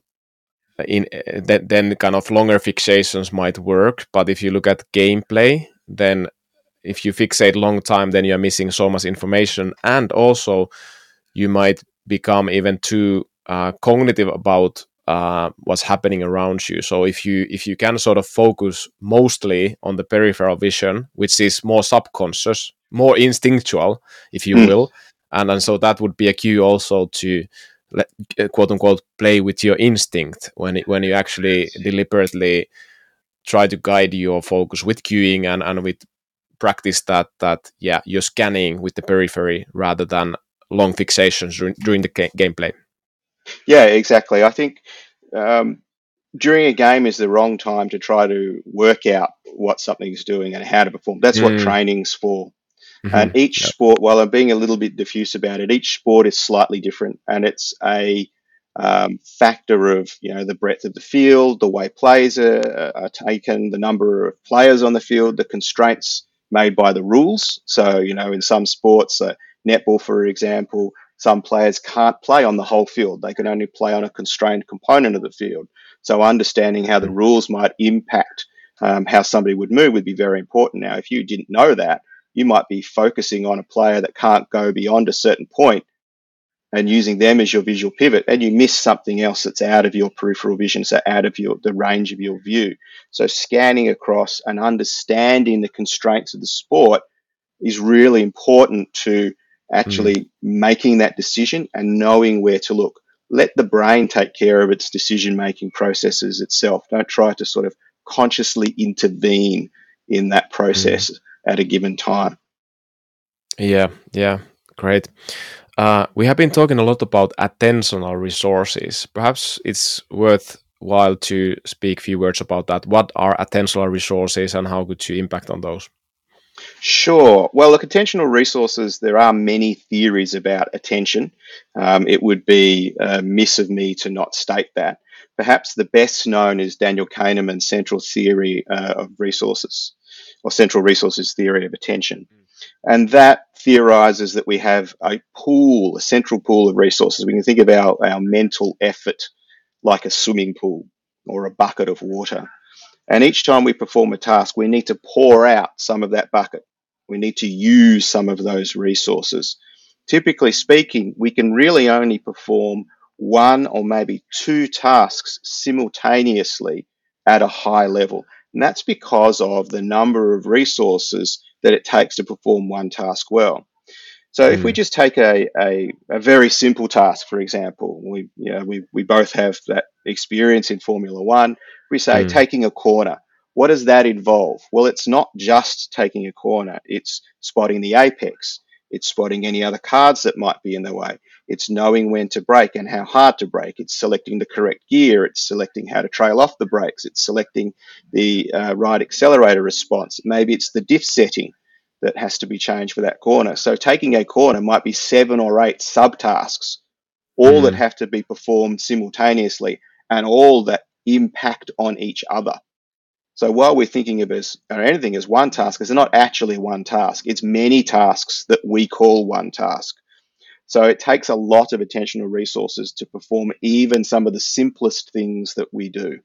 then kind of longer fixations might work. But if you look at gameplay, then if you fixate long time, then you're missing so much information, and also you might become even too cognitive about what's happening around you. So if you can sort of focus mostly on the peripheral vision, which is more subconscious, more instinctual, if you Mm. will, and so that would be a cue also to quote unquote play with your instinct when you actually deliberately try to guide your focus with cueing and with practice that yeah, you're scanning with the periphery rather than long fixations during the gameplay. Yeah, exactly. I think um, during a game is the wrong time to try to work out what something's doing and how to perform. That's what Mm. training's for. And Mm-hmm. each Yeah. sport, while I'm being a little bit diffuse about it, each sport is slightly different, and it's a factor of the breadth of the field, the way plays are taken, the number of players on the field, the constraints made by the rules. So in some sports, netball, for example, some players can't play on the whole field; they can only play on a constrained component of the field. So understanding how the rules might impact how somebody would move would be very important. Now, if you didn't know that, you might be focusing on a player that can't go beyond a certain point and using them as your visual pivot, and you miss something else that's out of your peripheral vision, so out of the range of your view. So scanning across and understanding the constraints of the sport is really important to actually making that decision and knowing where to look. Let the brain take care of its decision-making processes itself. Don't try to sort of consciously intervene in that process at a given time. Yeah, great. We have been talking a lot about attentional resources. Perhaps it's worthwhile to speak a few words about that. What are attentional resources and how could you impact on those? Sure. Well, look, attentional resources, there are many theories about attention. It would be amiss of me to not state that. Perhaps the best known is Daniel Kahneman's central theory of resources, or central resources theory of attention. And that theorizes that we have a pool, a central pool of resources. We can think of our mental effort like a swimming pool or a bucket of water. And each time we perform a task, we need to pour out some of that bucket. We need to use some of those resources. Typically speaking, we can really only perform one or maybe two tasks simultaneously at a high level. And that's because of the number of resources that it takes to perform one task well. So if we just take a very simple task, for example, we both have that experience in Formula One. We say taking a corner. What does that involve? Well, it's not just taking a corner. It's spotting the apex. It's spotting any other cars that might be in the way. It's knowing when to brake and how hard to brake. It's selecting the correct gear. It's selecting how to trail off the brakes. It's selecting the right accelerator response. Maybe it's the diff setting that has to be changed for that corner. So taking a corner might be 7 or 8 subtasks, all that have to be performed simultaneously and all that impact on each other. So while we're thinking of anything as one task, it's not actually one task. It's many tasks that we call one task. So it takes a lot of attentional resources to perform even some of the simplest things that we do.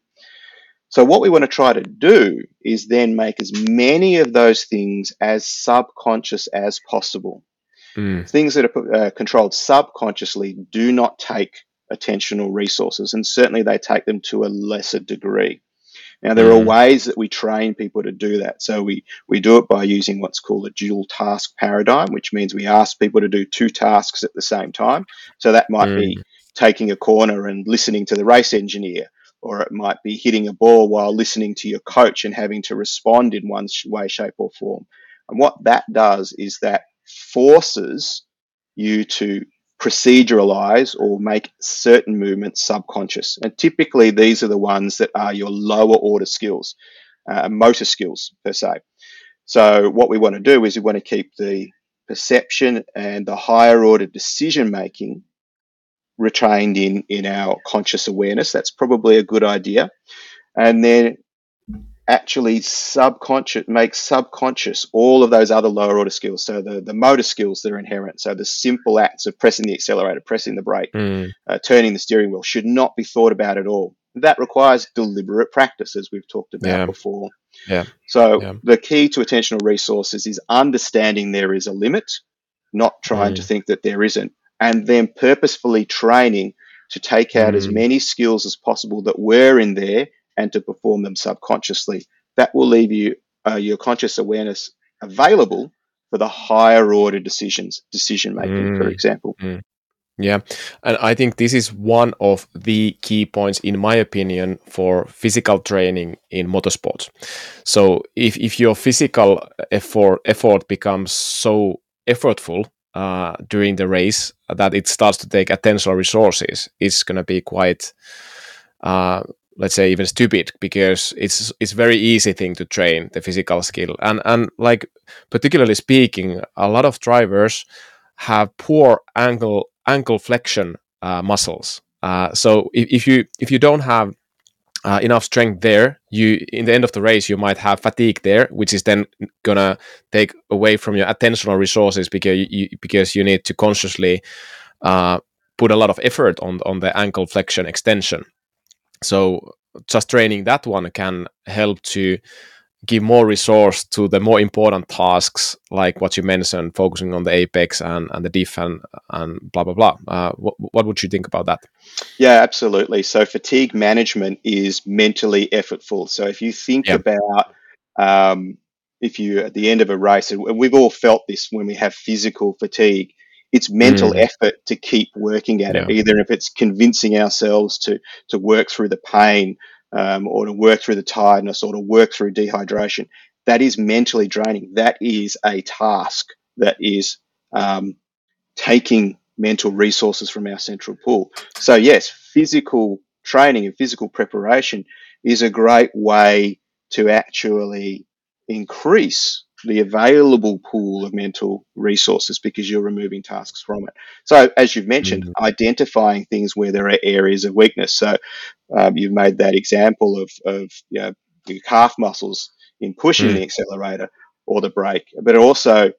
So what we want to try to do is then make as many of those things as subconscious as possible. Things that are controlled subconsciously do not take attentional resources, and certainly they take them to a lesser degree. Now, there are ways that we train people to do that. So we do it by using what's called a dual task paradigm, which means we ask people to do 2 tasks at the same time. So that might be taking a corner and listening to the race engineer, or it might be hitting a ball while listening to your coach and having to respond in one way, shape, or form. And what that does is that forces you to proceduralize or make certain movements subconscious. And typically these are the ones that are your lower order skills, motor skills per se. So what we want to do is we want to keep the perception and the higher order decision making retained in our conscious awareness. That's probably a good idea. And then actually make subconscious all of those other lower order skills. So the motor skills that are inherent. So the simple acts of pressing the accelerator, pressing the brake, turning the steering wheel should not be thought about at all. That requires deliberate practice, as we've talked about before. So the key to attentional resources is understanding there is a limit, not trying to think that there isn't, and then purposefully training to take out as many skills as possible that were in there and to perform them subconsciously. That will leave you your conscious awareness available for the higher order decision making, for example. Yeah, and I think this is one of the key points, in my opinion, for physical training in motorsports. So if your physical effort becomes so effortful during the race that it starts to take attentional resources, it's going to be quite let's say even stupid, because it's very easy thing to train the physical skill, and like particularly speaking, a lot of drivers have poor ankle flexion muscles. So if you don't have enough strength there, you in the end of the race you might have fatigue there, which is then gonna take away from your attentional resources, because you need to consciously put a lot of effort on the ankle flexion extension. So just training that one can help to give more resource to the more important tasks, like what you mentioned, focusing on the apex and the defense and blah blah blah. What would you think about that? Yeah, absolutely. So fatigue management is mentally effortful. So if you think Yeah. about if you at the end of a race, and we've all felt this when we have physical fatigue, it's mental Mm, effort to keep working at it, yeah. either if it's convincing ourselves to work through the pain, or to work through the tiredness, or to work through dehydration. That is mentally draining. That is a task that is um, taking mental resources from our central pool. So yes, physical training and physical preparation is a great way to actually increase the available pool of mental resources because you're removing tasks from it. So as you've mentioned, Mm, identifying things where there are areas of weakness. So you've made that example of your calf muscles in pushing mm, the accelerator or the brake, but also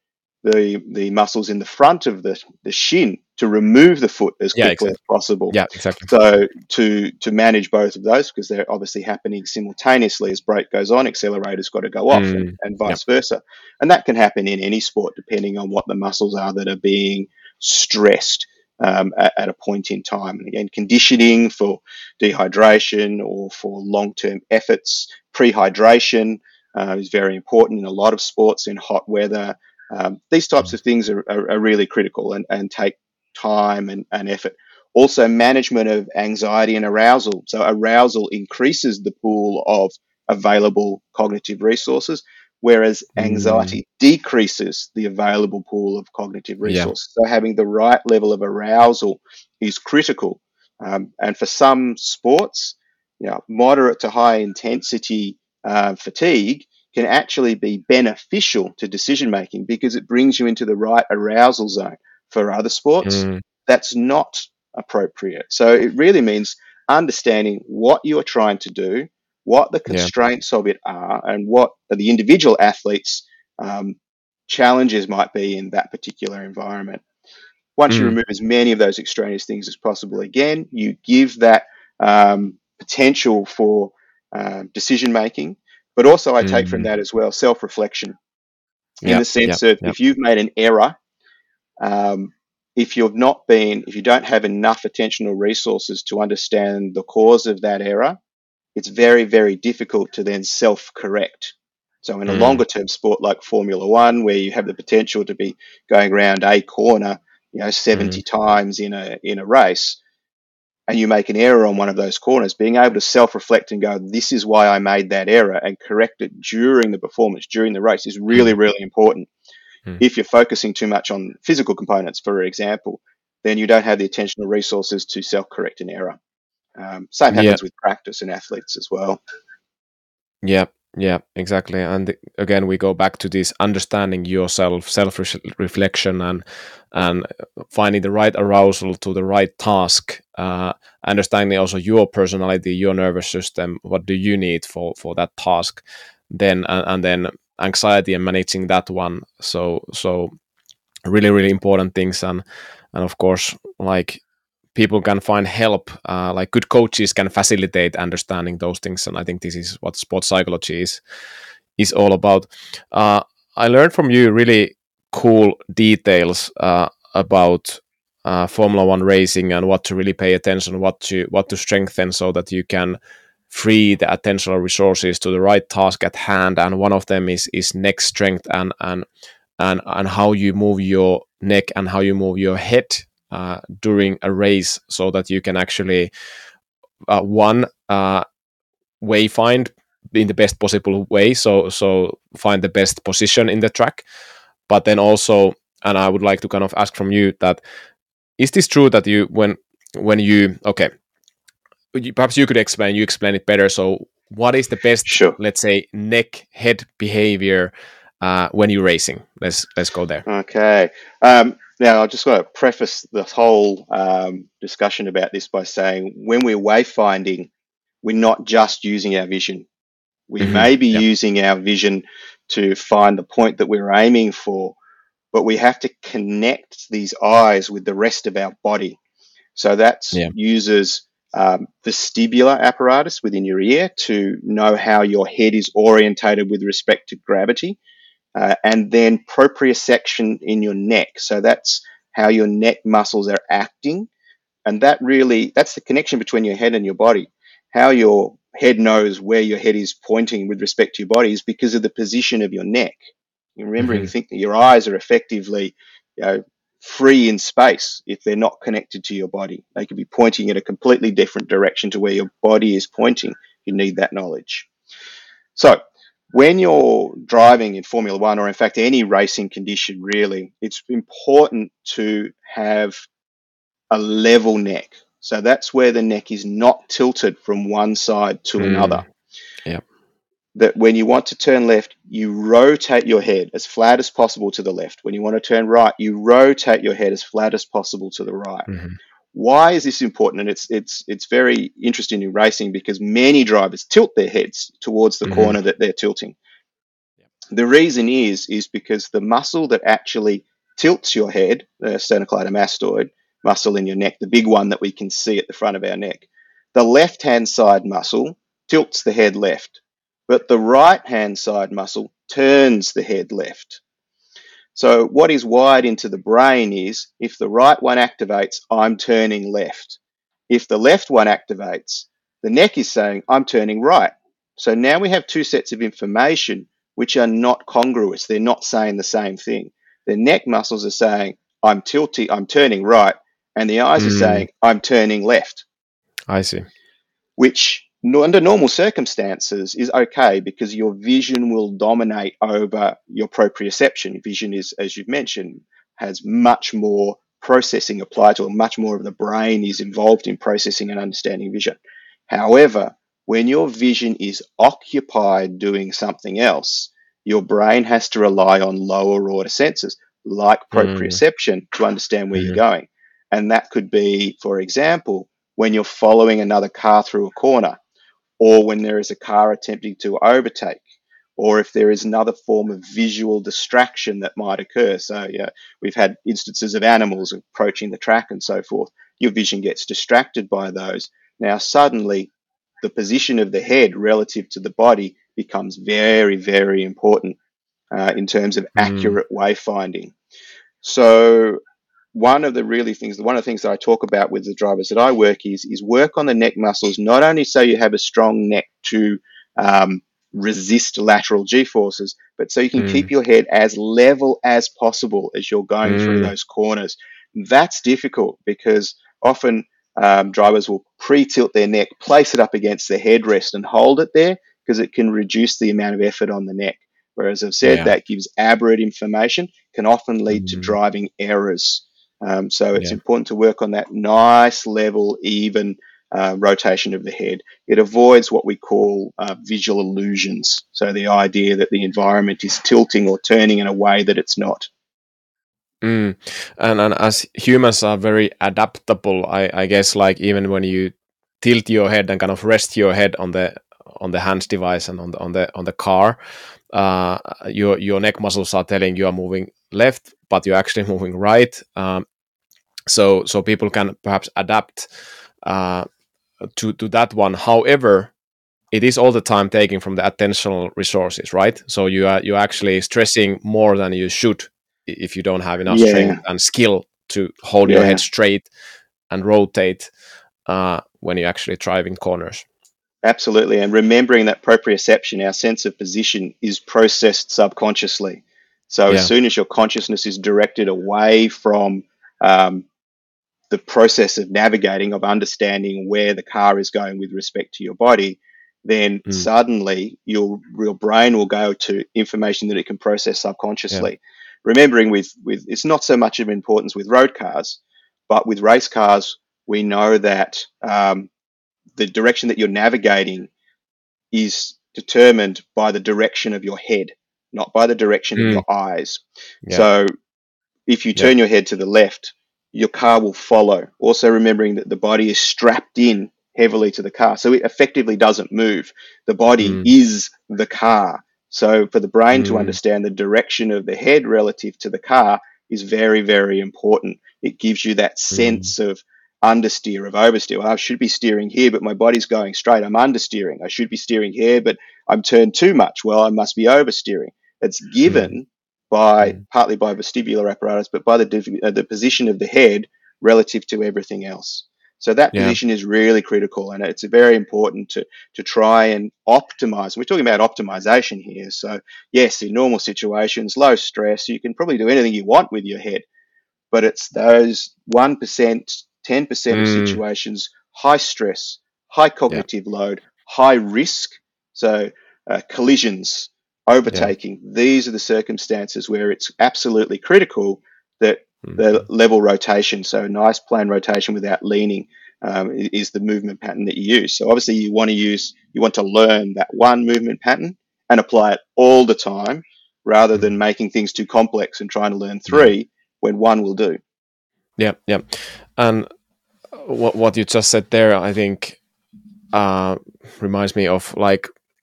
the muscles in the front of the shin to remove the foot as yeah, quickly as exactly. possible. Yeah, exactly. So to manage both of those, because they're obviously happening simultaneously as brake goes on, accelerator's got to go off, and Yeah. vice versa. And that can happen in any sport depending on what the muscles are that are being stressed at a point in time. And again, conditioning for dehydration or for long-term efforts, prehydration is very important in a lot of sports in hot weather. These types Mm, of things are really critical and take time and effort. Also, management of anxiety and arousal. So, arousal increases the pool of available cognitive resources, whereas mm, anxiety decreases the available pool of cognitive yeah. resources. So, having the right level of arousal is critical. And for some sports, moderate to high intensity fatigue can actually be beneficial to decision making because it brings you into the right arousal zone. For other sports, Mm, that's not appropriate. So it really means understanding what you are trying to do, what the yeah. constraints of it are, and what the individual athletes' um, challenges might be in that particular environment. Once you Mm, remove as many of those extraneous things as possible, again, you give that potential for decision making. But also, I take from mm, that as well self reflection in yeah. the Yeah. sense of Yeah. if you've made an error, um, if you don't have enough attention or resources to understand the cause of that error, it's very, very difficult to then self correct. So, in a Mm, longer term sport like Formula One, where you have the potential to be going around a corner, mm, 70 times in a race, and you make an error on one of those corners, being able to self reflect and go, this is why I made that error, and correct it during the performance, during the race, is really, mm, really important. mm. If you're focusing too much on physical components, for example, then you don't have the attentional resources to self correct an error. Same Yeah. happens with practice and athletes as well. Yeah, yeah, exactly. And again, we go back to this understanding yourself, self-reflection, and finding the right arousal to the right task. Understanding also your personality, your nervous system. What do you need for that task? Then and then anxiety and managing that one. So really really important things, and of course, like, people can find help, like good coaches can facilitate understanding those things, and I think this is what sports psychology is all about. I learned from you really cool details about Formula One racing and what to really pay attention, what to strengthen, so that you can free the attentional resources to the right task at hand. And one of them is neck strength, and how you move your neck and how you move your head during a race, so that you can actually one way find in the best possible way, so find the best position in the track. But then also, and I would like to kind of ask from you that, is this true that you when you okay, perhaps you could explain it better. So what is the best, Sure. let's say, neck head behavior when you're racing? Let's go there. Okay. Now, I just want to preface the whole discussion about this by saying when we're wayfinding, we're not just using our vision. We Hmm. may be Yeah. using our vision to find the point that we're aiming for, but we have to connect these eyes with the rest of our body. So that Yeah. uses vestibular apparatus within your ear to know how your head is orientated with respect to gravity, and then proprioception in your neck. So that's how your neck muscles are acting, and that's the connection between your head and your body. How your head knows where your head is pointing with respect to your body is because of the position of your neck. You remember, you Hmm. think that your eyes are effectively, free in space if they're not connected to your body. They could be pointing in a completely different direction to where your body is pointing. You need that knowledge. So, when you're driving in Formula One, or in fact any racing condition really, it's important to have a level neck. So that's where the neck is not tilted from one side to another. Mm. Yeah. That when you want to turn left, you rotate your head as flat as possible to the left. When you want to turn right, you rotate your head as flat as possible to the right. Hmm. Why is this important? And it's very interesting in racing because many drivers tilt their heads towards the Hmm. corner that they're tilting. The reason is because the muscle that actually tilts your head, the sternocleidomastoid muscle in your neck, the big one that we can see at the front of our neck, the left-hand side muscle tilts the head left, but the right-hand side muscle turns the head left. So what is wired into the brain is if the right one activates, I'm turning left. If the left one activates, the neck is saying, I'm turning right. So now we have two sets of information which are not congruous. They're not saying the same thing. The neck muscles are saying, I'm tilting, I'm turning right. And the eyes are Mm. saying, I'm turning left, I see. which under normal circumstances is okay because your vision will dominate over your proprioception. Vision is, as you've mentioned, has much more processing applied to it, much more of the brain is involved in processing and understanding vision. However, when your vision is occupied doing something else, your brain has to rely on lower order senses like Mm. proprioception to understand where you're Hmm. going. And that could be, for example, when you're following another car through a corner, or when there is a car attempting to overtake, or if there is another form of visual distraction that might occur. So, yeah, we've had instances of animals approaching the track and so forth. Your vision gets distracted by those. Now, suddenly, the position of the head relative to the body becomes very, very important in terms of Mm. accurate wayfinding. So, one of the things that I talk about with the drivers that I work is work on the neck muscles, not only so you have a strong neck to um, resist lateral G forces, but so you can Mm. keep your head as level as possible as you're going through Mm. those corners. That's difficult because often drivers will pre-tilt their neck, place it up against the headrest and hold it there because it can reduce the amount of effort on the neck. Whereas I've said Yeah. that gives aberrant information, can often lead to Mm. driving errors. So it's Yeah. important to work on that nice, level, even rotation of the head. It avoids what we call visual illusions. So the idea that the environment is tilting or turning in a way that it's not. Mm. And as humans are very adaptable, I guess like even when you tilt your head and kind of rest your head on the hands device and on the car, your neck muscles are telling you are moving left, but you're actually moving right. So people can perhaps adapt uh, to that one. However, it is all the time taking from the attentional resources, right? So you're actually stressing more than you should if you don't have enough strength Yeah, and skill to hold your head yeah, straight and rotate when you're actually driving corners. absolutely. And remembering that proprioception, our sense of position, is processed subconsciously. So as Yeah. soon as your consciousness is directed away from um, the process of navigating, of understanding where the car is going with respect to your body, then Mm. suddenly your brain will go to information that it can process Yeah. subconsciously. Remembering with it's not so much of importance with road cars, but with race cars, we know that the direction that you're navigating is determined by the direction of your head, not by the direction of Mm. your eyes. Yeah. So if you Yeah. turn your head to the left, your car will follow. Also, remembering that the body is strapped in heavily to the car. So it effectively doesn't move. The body Mm. is the car. So for the brain to Mm. understand the direction of the head relative to the car is very, very important. It gives you that Mm. sense of understeer of oversteer. Well, I should be steering here, but my body's going straight. I'm understeering. I should be steering here, but I'm turned too much. Well, I must be oversteering. It's Mm, given by mm. partly by vestibular apparatus, but by the position of the head relative to everything else. So that Yeah. position is really critical, and it's very important to try and optimize. We're talking about optimization here. So yes, in normal situations, low stress, you can probably do anything you want with your head, but it's those 1%, 10% of Mm, situations, high stress, high yeah. cognitive load, high risk. So collisions, Yeah. overtaking, these are the circumstances where it's absolutely critical that the Mhm. level rotation, so nice plan rotation without leaning, is the movement pattern that you use. So obviously you want to learn that one movement pattern and apply it all the time rather than Mm. making things too complex and trying to learn Yeah. three when one will do. Yeah. Yeah. And what you just said there, I think, uh, reminds me of like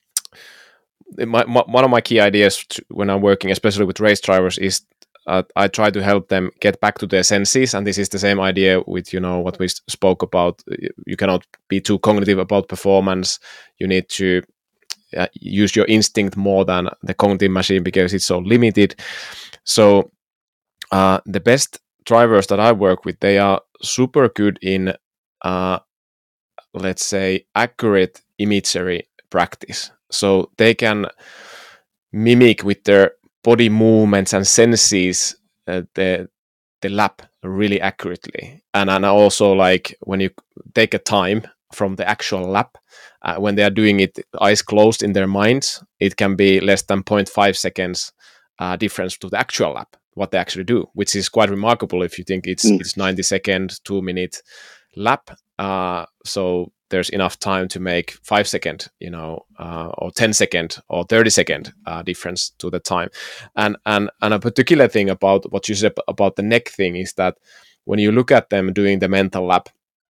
one of my key ideas when I'm working, especially with race drivers, is I try to help them get back to their senses, and this is the same idea with what we spoke about. You cannot be too cognitive about performance. You need to use your instinct more than the cognitive machine because it's so limited. So the best drivers that I work with, they are super good in, uh, let's say, accurate imagery practice. So they can mimic with their body movements and senses the lap really accurately. And also, like, when you take a time from the actual lap, when they are doing it eyes closed in their minds, it can be less than zero point 0.5 seconds difference to the actual lap, what they actually do, which is quite remarkable if you think Mm. it's 90-second 2 minute lap. So there's enough time to make 5 second, or 10 second or 30 second difference to the time. And a particular thing about what you said about the neck thing is that when you look at them doing the mental lap,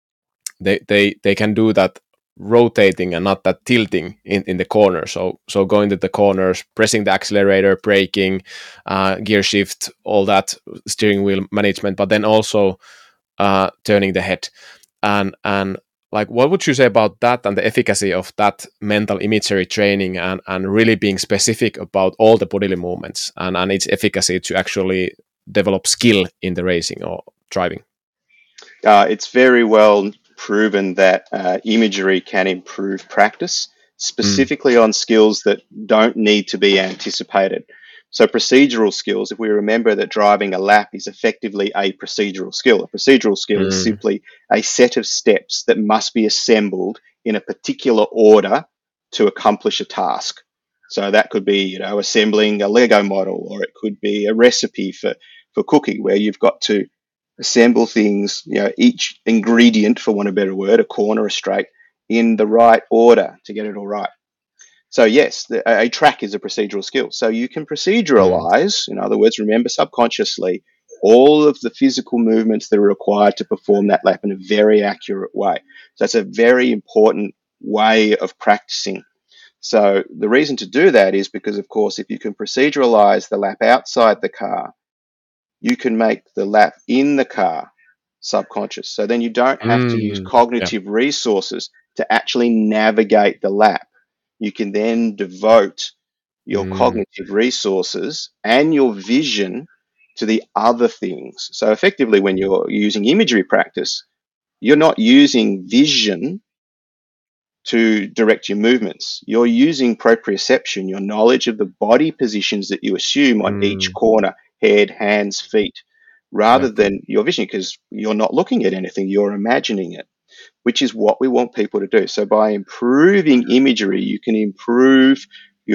they can do that rotating and not that tilting in the corner. So going to the corners, pressing the accelerator, braking, gear shift, all that steering wheel management, but then also turning the head. And like, what would you say about that and the efficacy of that mental imagery training, and really being specific about all the bodily movements and its efficacy to actually develop skill in the racing or driving? It's very well proven that imagery can improve practice, Mm, specifically on skills that don't need to be anticipated. So, procedural skills, if we remember that driving a lap is effectively a procedural skill, a procedural skill is mm, simply a set of steps that must be assembled in a particular order to accomplish a task. So, that could be, assembling a Lego model, or it could be a recipe for cooking, where you've got to assemble things, each ingredient, for want of a better word, a corner, a straight, in the right order to get it all right. So yes, a track is a procedural skill. So you can mm, proceduralize, in other words, remember subconsciously all of the physical movements that are required to perform that lap in a very accurate way. So that's a very important way of practicing. So the reason to do that is because, of course, if you can proceduralize the lap outside the car, you can make the lap in the car subconscious. So then you don't have to use yeah. cognitive resources to actually navigate the lap. You can then devote your Mm, cognitive resources and your vision to the other things. So effectively, when you're using imagery practice, you're not using vision to direct your movements. You're using proprioception, your knowledge of the body positions that you assume on each mm, corner, head, hands, feet, yeah. rather than your vision, because you're not looking at anything, you're imagining it, which is what we want people to do. So by improving imagery, you can improve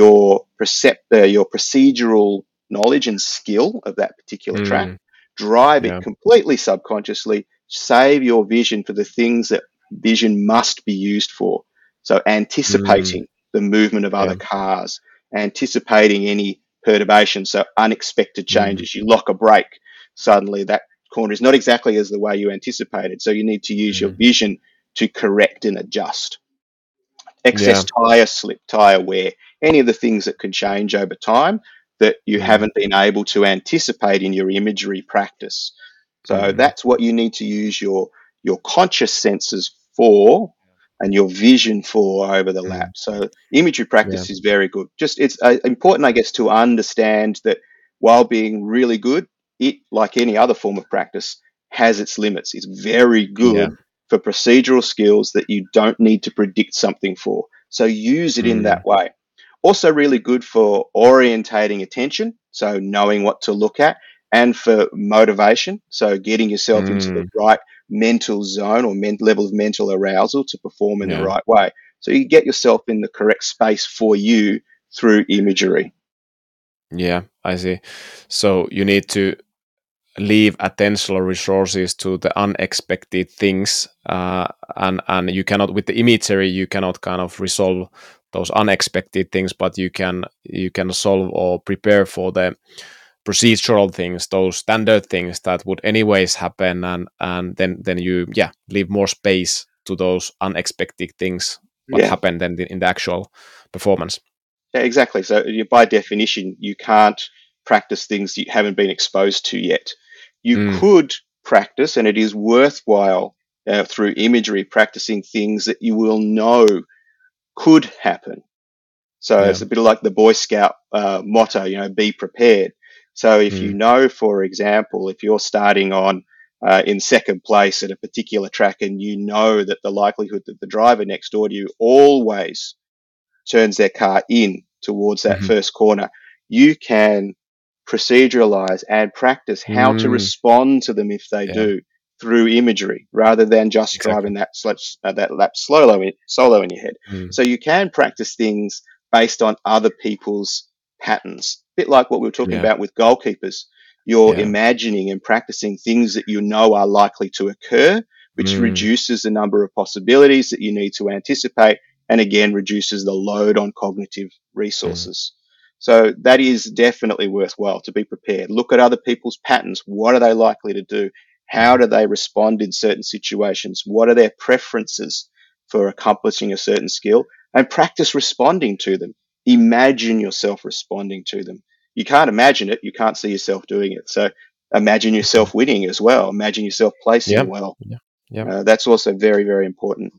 your procedural knowledge and skill of that particular track, Mm, drive it yeah. completely subconsciously, save your vision for the things that vision must be used for. So Mm, anticipating the movement of yeah. other cars, anticipating any perturbation, so unexpected Mm, changes. You lock a brake, suddenly that corner is not exactly as the way you anticipated. So you need to use your mm, vision to correct and adjust. Excess yeah. tire slip, tire wear, any of the things that can change over time that you Mm, haven't been able to anticipate in your imagery practice. So mm, that's what you need to use your your conscious senses for and your vision for over the lap. Mm. So imagery Yeah. practice is very good. Just it's important, I guess, to understand that while being really good, it, like any other form of practice, has its limits. It's very Yeah. good for procedural skills that you don't need to predict something for. So use it in Mm. that way. Also, really good for orientating attention, so knowing what to look at, and for motivation, so getting yourself into the Mm. right mental zone or level of mental arousal to perform in the Yeah. right way. So you get yourself in the correct space for you through imagery. Yeah, I see. So you need to leave attentional resources to the unexpected things, and you cannot, with the imagery, you cannot kind of resolve those unexpected things, but you can solve or prepare for the procedural things, those standard things that would anyways happen, and then you, yeah, leave more space to those unexpected things what Yeah, happened then in the actual performance. yeah, exactly. So by definition, you can't practice things you haven't been exposed to yet. You Mm. could practice, and it is worthwhile through imagery practicing things that you will know could happen. So Yeah. it's a bit like the Boy Scout motto, be prepared. So if you Mm. know, for example, if you're starting on in second place at a particular track and you know that the likelihood that the driver next door to you always turns their car in towards that Hmm. first corner, you can proceduralize and practice how to Mm. respond to them if they Yeah, do through imagery rather than just exactly. driving that lap solo in your head. Mm. So you can practice things based on other people's patterns, a bit like what we were talking Yeah. about with goalkeepers. You're Yeah. imagining and practicing things that you know are likely to occur, which Mm. reduces the number of possibilities that you need to anticipate and again reduces the load on cognitive Mm. resources. So that is definitely worthwhile to be prepared. Look at other people's patterns. What are they likely to do? How Mm. do they respond in certain situations? What are their preferences for accomplishing a certain skill? And practice responding to them. Imagine yourself responding to them. You can't imagine it. You can't see yourself doing it. So imagine Mm. yourself winning as well. Imagine yourself Yeah. placing well. Yeah. Yeah. That's also very, very important.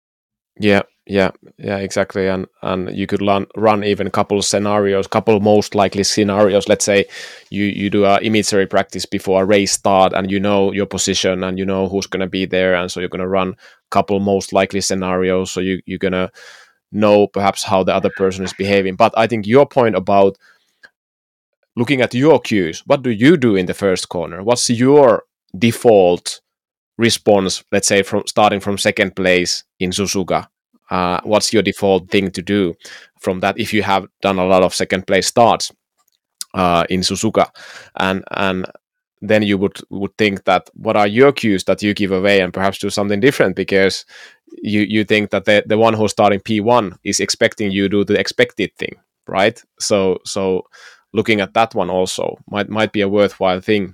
Yeah. Yeah. Yeah. Exactly. And you could run even a couple of scenarios, couple most likely scenarios. Let's say you do a imagery practice before a race start, and you know your position, and you know who's going to be there, and so you're going to run couple most likely scenarios. So you're going to know perhaps how the other person is behaving. But I think your point about looking at your cues, what do you do in the first corner? What's your default response, let's say from starting from second place in Suzuka? What's your default thing to do from that if you have done a lot of second place starts in Suzuka? And then you would think that what are your cues that you give away, and perhaps do something different, because you think that the one who's starting P1 is expecting you to do the expected thing, right? So looking at that one also might be a worthwhile thing.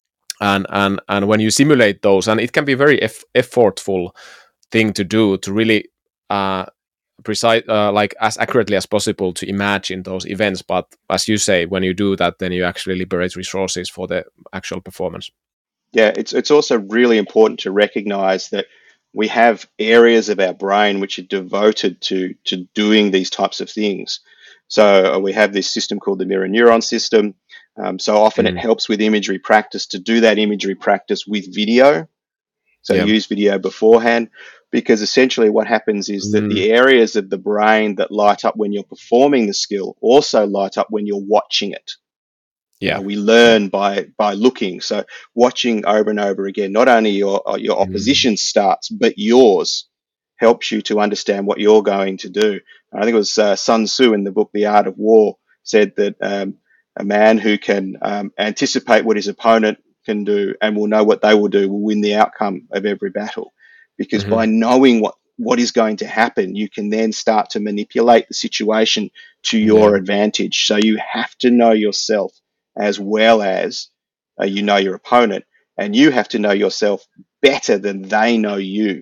And when you simulate those, and it can be very effortful thing to do to really precise, like as accurately as possible to imagine those events. But as you say, when you do that, then you actually liberate resources for the actual performance. Yeah, it's also really important to recognize that we have areas of our brain which are devoted to doing these types of things. So we have this system called the mirror neuron system. So often it Mm. helps with imagery practice to do that imagery practice with video. So Yeah. use video beforehand, because essentially what happens is that Mm. the areas of the brain that light up when you're performing the skill also light up when you're watching it. Yeah. We Yeah. learn by looking. So watching over and over again, not only your Mm. opposition starts, but yours helps you to understand what you're going to do. I think it was Sun Tzu in the book The Art of War said that a man who can anticipate what his opponent can do and will know what they will do will win the outcome of every battle. Because Hmm. by knowing what is going to happen, you can then start to manipulate the situation to Yeah. your advantage. So you have to know yourself as well as you know your opponent, and you have to know yourself better than they know you,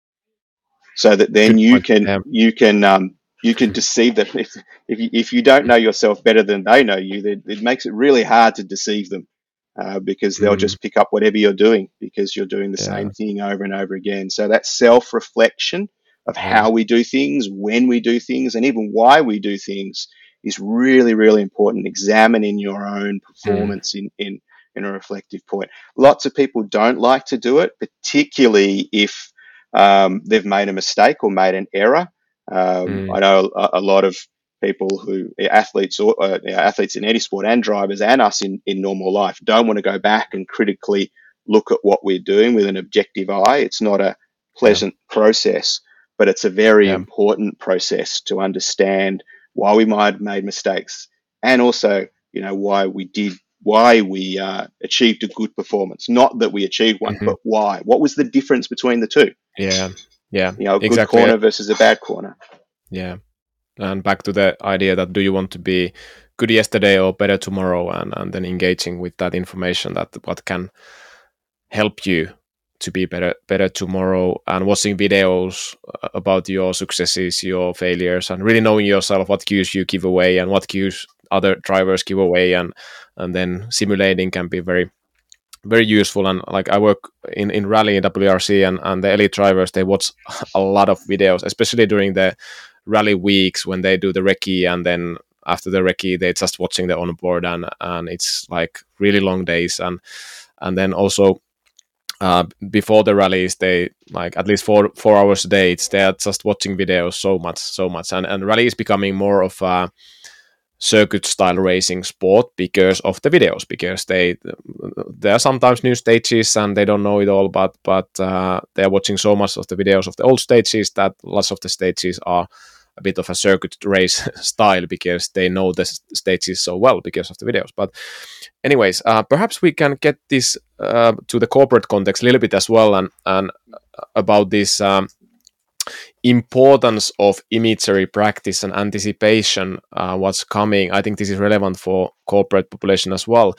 so that then Good you point. can Yeah. you can deceive them. If you don't know yourself better than they know you, then it makes it really hard to deceive them. because they'll just pick up whatever you're doing because you're doing the Yeah. same thing over and over again. So that self-reflection of Yeah. how we do things, when we do things, and even why we do things is really, really important. Examining your own performance in a reflective point. Lots of people don't like to do it, particularly if they've made a mistake or made an error. I know a lot of people who athletes or athletes in any sport and drivers and us in normal life don't want to go back and critically look at what we're doing with an objective eye. It's not a Yeah. pleasant process, but it's a very Yeah. important process to understand why we might have made mistakes and also, why we achieved a good performance. Not that we achieved one, Mhm. but why. What was the difference between the two? Yeah. Yeah. A good Exactly. corner versus a bad corner. Yeah. And back to the idea that do you want to be good yesterday or better tomorrow, and then engaging with that information that what can help you to be better tomorrow, and watching videos about your successes, your failures, and really knowing yourself what cues you give away and what cues other drivers give away, and then simulating can be very very useful. And like I work in rally in WRC, and the elite drivers, they watch a lot of videos, especially during the rally weeks when they do the recce, and then after the recce they're just watching the onboard, and it's like really long days. And then also before the rallies they like at least 4 hours a day they're just watching videos so much. And rally is becoming more of a circuit style racing sport because of the videos, because there are sometimes new stages and they don't know it all, but they're watching so much of the videos of the old stages that lots of the stages are a bit of a circuit race style because they know the stages so well because of the videos. But anyways, perhaps we can get this to the corporate context a little bit as well, and about this importance of imagery practice and anticipation, what's coming. I think this is relevant for corporate population as well.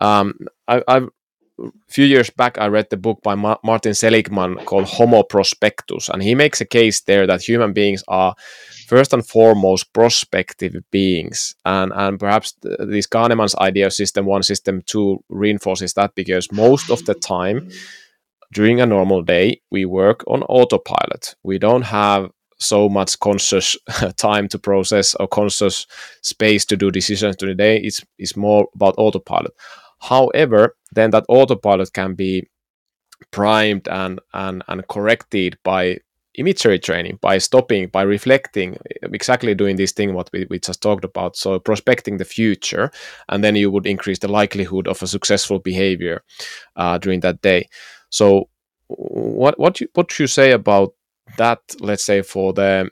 A few years back, I read the book by Martin Seligman called Homo Prospectus, and he makes a case there that human beings are first and foremost prospective beings, and perhaps this Kahneman's idea of system 1, system 2 reinforces that, because most of the time during a normal day we work on autopilot. We don't have so much conscious time to process or conscious space to do decisions during the day. It's more about autopilot. However, then that autopilot can be primed and corrected by imagery training, by stopping, by reflecting, exactly doing this thing what we just talked about. So prospecting the future, and then you would increase the likelihood of a successful behavior during that day. So what you say about that, let's say for the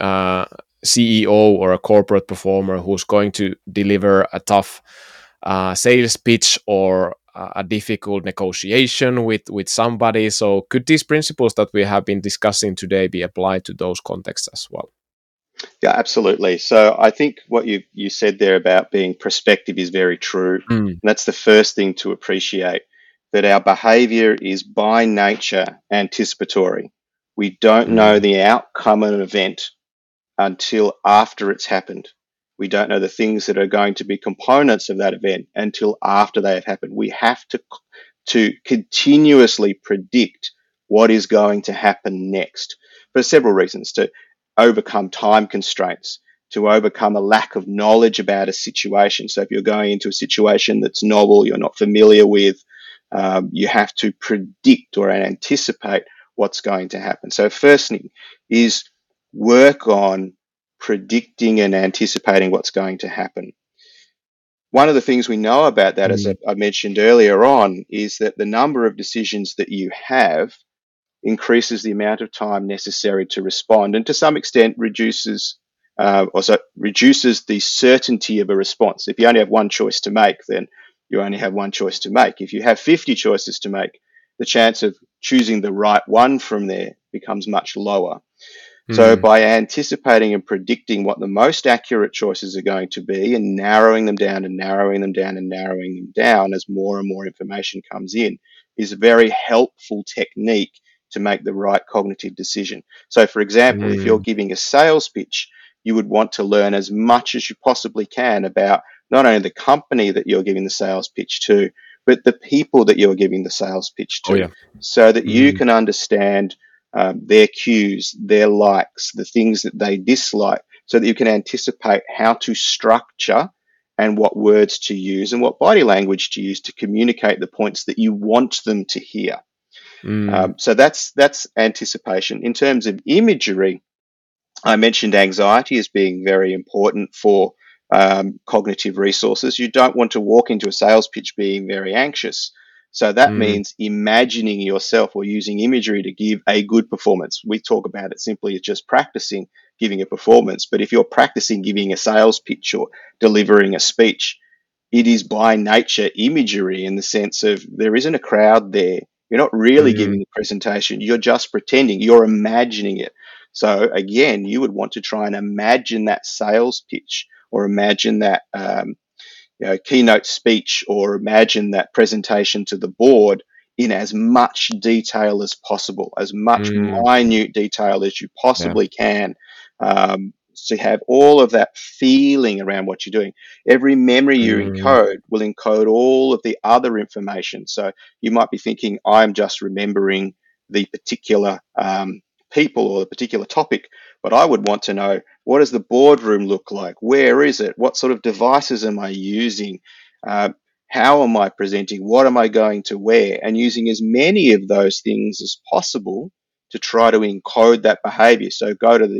CEO or a corporate performer who's going to deliver a tough sales pitch or a difficult negotiation with somebody? So could these principles that we have been discussing today be applied to those contexts as well? Yeah, absolutely. So I think what you said there about being prospective is very true. And that's the first thing to appreciate, that our behavior is by nature anticipatory. We don't know the outcome of an event until after it's happened. We don't know the things that are going to be components of that event until after they have happened. We have to continuously predict what is going to happen next for several reasons: to overcome time constraints, to overcome a lack of knowledge about a situation. So if you're going into a situation that's novel, you're not familiar with, you have to predict or anticipate what's going to happen. So first thing is work on predicting and anticipating what's going to happen. One of the things we know about that, as I mentioned earlier on, is that the number of decisions that you have increases the amount of time necessary to respond, and to some extent reduces the certainty of a response. If you only have one choice to make, then you only have one choice to make. If you have 50 choices to make, the chance of choosing the right one from there becomes much lower. So by anticipating and predicting what the most accurate choices are going to be, and narrowing them down and narrowing them down and narrowing them down as more and more information comes in, is a very helpful technique to make the right cognitive decision. So for example, if you're giving a sales pitch, you would want to learn as much as you possibly can about not only the company that you're giving the sales pitch to, but the people that you're giving the sales pitch Oh to, yeah. so that you Mm, can understand their cues, their likes, the things that they dislike, so that you can anticipate how to structure and what words to use and what body language to use to communicate the points that you want them to hear. mm, So that's anticipation. In terms of imagery, I mentioned anxiety as being very important for cognitive resources. You don't want to walk into a sales pitch being very anxious. So that mm, means imagining yourself or using imagery to give a good performance. We talk about it simply as just practicing giving a performance. But if you're practicing giving a sales pitch or delivering a speech, it is by nature imagery in the sense of there isn't a crowd there. You're not really mm, giving the presentation, you're just pretending, you're imagining it. So, again, you would want to try and imagine that sales pitch or imagine that keynote speech or imagine that presentation to the board in as much detail as possible, as much mm, minute detail as you yeah. possibly can. To have all of that feeling around what you're doing. Every memory you Mm, encode will encode all of the other information. So you might be thinking, I'm just remembering the particular people or the particular topic, but I would want to know, what does the boardroom look like? Where is it? What sort of devices am I using? Uh, how am I presenting? What am I going to wear? And using as many of those things as possible to try to encode that behavior. So go to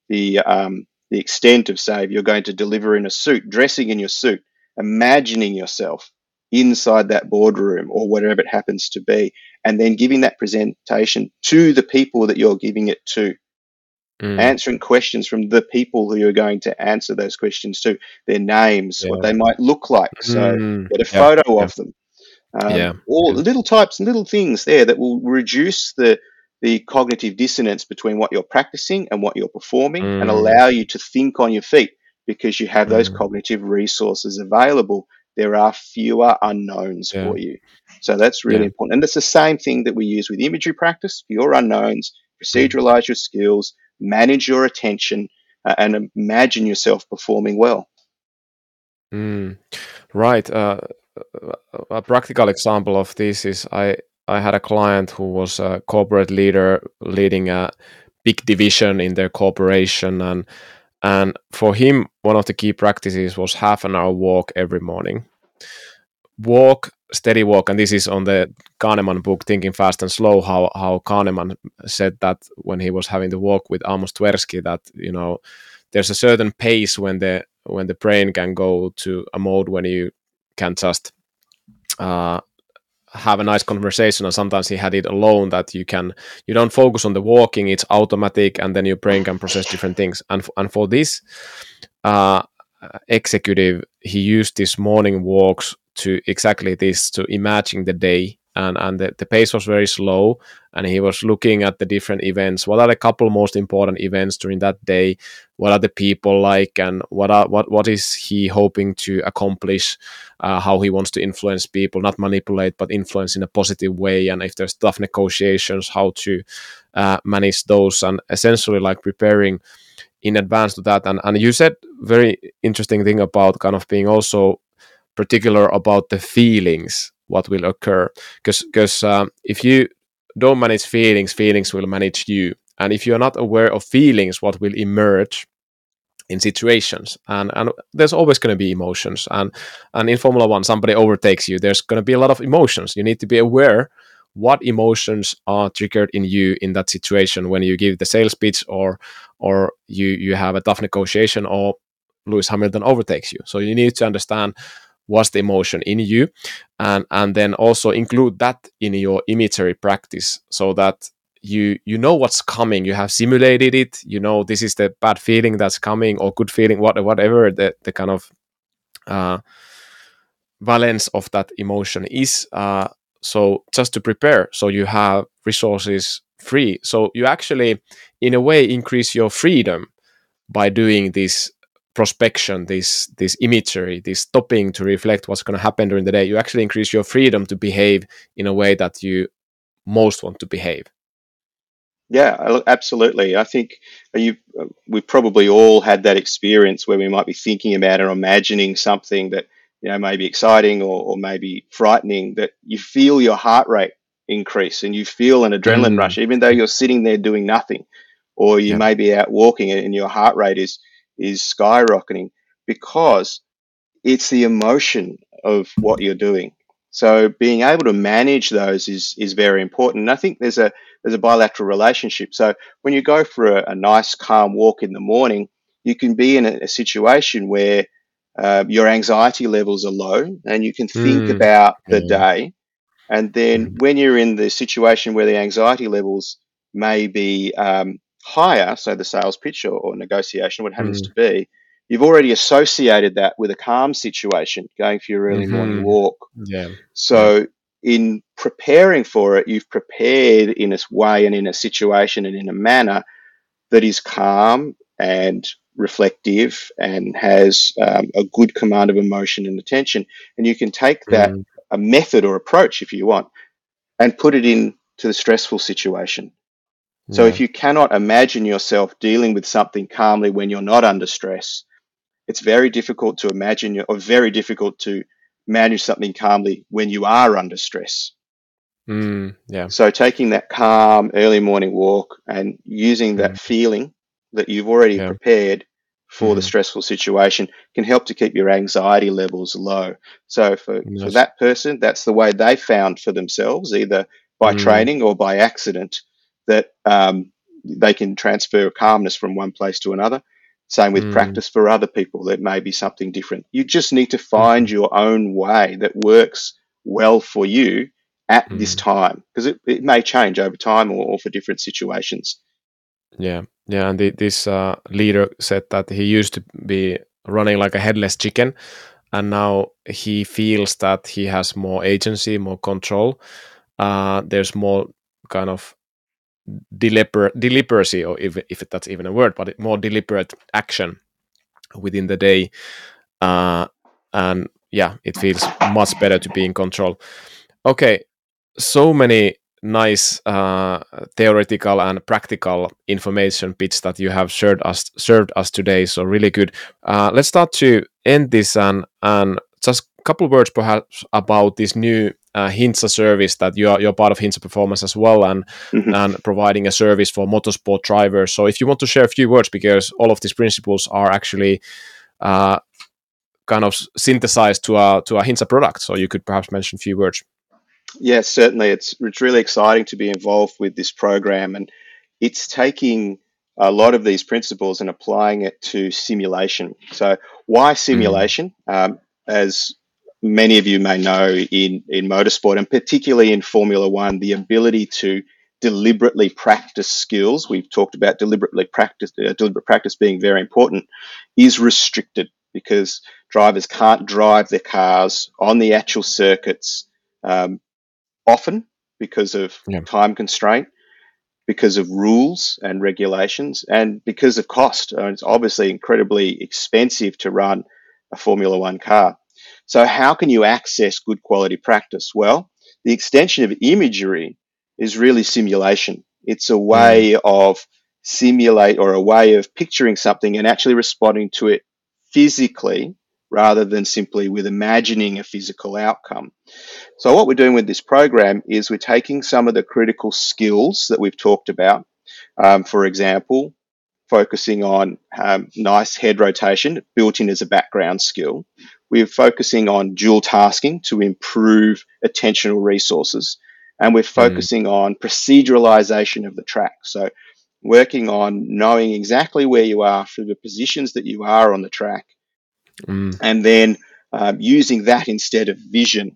the extent of, say, if you're going to deliver in a suit, dressing in your suit, imagining yourself inside that boardroom or whatever it happens to be, and then giving that presentation to the people that you're giving it to, mm, answering questions from the people who you're going to answer those questions to, their names, what yeah. they might look like. So Mm, get a yeah. photo Yeah. of them. Yeah. All Yeah. little types and little things there that will reduce the cognitive dissonance between what you're practicing and what you're performing and Mm, allow you to think on your feet because you have those mm, cognitive resources available. There are fewer unknowns yeah. for you. So that's really Yeah. important. And it's the same thing that we use with imagery practice for your unknowns, Mm, proceduralize your skills, manage your attention, and imagine yourself performing well. mm. Right. A practical example of this is I had a client who was a corporate leader leading a big division in their corporation, and for him one of the key practices was half an hour walk every morning. Walk, steady walk, and this is on the Kahneman book, Thinking Fast and Slow. How Kahneman said that when he was having the walk with Amos Tversky, that there's a certain pace when the brain can go to a mode when you can just uh, have a nice conversation, and sometimes he had it alone that you don't focus on the walking, it's automatic, and then your brain can process different things. And for this uh, executive, he used these morning walks to exactly this, to imagine the day, and the pace was very slow, and he was looking at the different events. What are the couple most important events during that day? What are the people like, and what is he hoping to accomplish? How he wants to influence people, not manipulate, but influence in a positive way. And if there's tough negotiations, how to manage those, and essentially like preparing in advance to that. And you said very interesting thing about kind of being also particular about the feelings what will occur, because if you don't manage feelings, feelings will manage you. And if you're not aware of feelings, what will emerge in situations, and there's always going to be emotions, and in Formula One somebody overtakes you, there's going to be a lot of emotions. You need to be aware what emotions are triggered in you in that situation when you give the sales pitch, or you have a tough negotiation, or Lewis Hamilton overtakes you. So you need to understand what's the emotion in you, and then also include that in your imagery practice, so that you know what's coming, you have simulated it, this is the bad feeling that's coming, or good feeling, whatever the kind of uh, valence of that emotion is, so just to prepare, so you have resources free, so you actually in a way increase your freedom by doing this prospection, this imagery, this stopping to reflect what's going to happen during the day. You actually increase your freedom to behave in a way that you most want to behave. Yeah, absolutely. I think we've probably all had that experience where we might be thinking about or imagining something that maybe exciting or maybe frightening, that you feel your heart rate increase and you feel an adrenaline Mm. rush, even though you're sitting there doing nothing, or you Yeah. may be out walking and your heart rate is skyrocketing because it's the emotion of what you're doing. So being able to manage those is very important. And I think there's a bilateral relationship. So when you go for a nice calm walk in the morning, you can be in a situation where your anxiety levels are low and you can think Mm. about the Yeah. day. And then Mhm. when you're in the situation where the anxiety levels may be higher, so the sales pitch or negotiation, what happens Mm. to be, you've already associated that with a calm situation, going for your early morning Mhm. walk. Yeah. Yeah. So in preparing for it, you've prepared in a way and in a situation and in a manner that is calm and reflective and has a good command of emotion and attention. And you can take that Mm. a method or approach, if you want, and put it into the stressful situation. So Yeah. if you cannot imagine yourself dealing with something calmly when you're not under stress, it's very difficult to imagine or very difficult to manage something calmly when you are under stress. Yeah. So taking that calm early morning walk and using that Mm. feeling that you've already Yeah. prepared for the Mhm. stressful situation can help to keep your anxiety levels low. So for Yes. that person, that's the way they found for themselves, either by Mm. training or by accident, that they can transfer calmness from one place to another. Same with Mm. practice for other people. That may be something different. You just need to find Mhm. your own way that works well for you at this Mm. time, because it may change over time or for different situations. Yeah. Yeah. And this leader said that he used to be running like a headless chicken, and now he feels that he has more agency, more control. There's more kind of deliberacy, or if that's even a word, but more deliberate action within the day. Uh, and yeah, it feels much better to be in control. Okay, so many nice theoretical and practical information bits that you have served us today. So really good. Let's start to end this, and just a couple of words perhaps about this new Hinsa service that you're part of Hinsa Performance as well, Mhm. and providing a service for motorsport drivers. So if you want to share a few words, because all of these principles are actually uh, kind of synthesized to a Hinsa product, so you could perhaps mention a few words. Yes, certainly. It's really exciting to be involved with this program, and it's taking a lot of these principles and applying it to simulation. So, why Mm. simulation? As many of you may know, in motorsport and particularly in Formula One, the ability to deliberately practice skills. We've talked about deliberate practice being very important, is restricted because drivers can't drive their cars on the actual circuits. Often because of Yeah. time constraint, because of rules and regulations, and because of cost. It's obviously incredibly expensive to run a Formula One car. So, how can you access good quality practice? Well, the extension of imagery is really simulation. It's a Mm. way of simulate or a way of picturing something and actually responding to it physically rather than simply with imagining a physical outcome. So, what we're doing with this program is we're taking some of the critical skills that we've talked about, for example, focusing on nice head rotation built in as a background skill. We're focusing on dual tasking to improve attentional resources. And we're Mm. focusing on proceduralization of the track. So, working on knowing exactly where you are for the positions that you are on the track, Mm. and then using that instead of vision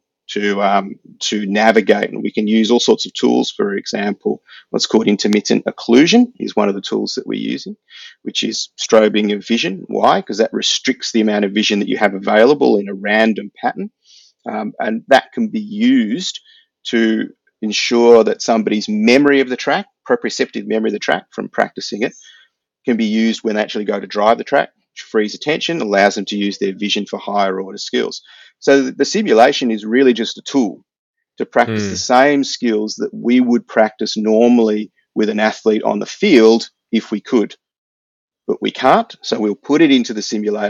to navigate. And we can use all sorts of tools. For example, what's called intermittent occlusion is one of the tools that we're using, which is strobing of vision. Why? Because that restricts the amount of vision that you have available in a random pattern, and that can be used to ensure that somebody's memory of the track, proprioceptive memory of the track from practicing it, can be used when they actually go to drive the track, which frees attention, allows them to use their vision for higher order skills. So the simulation is really just a tool to practice the Mm. same skills that we would practice normally with an athlete on the field if we could. But we can't, so we'll put it into the simulator,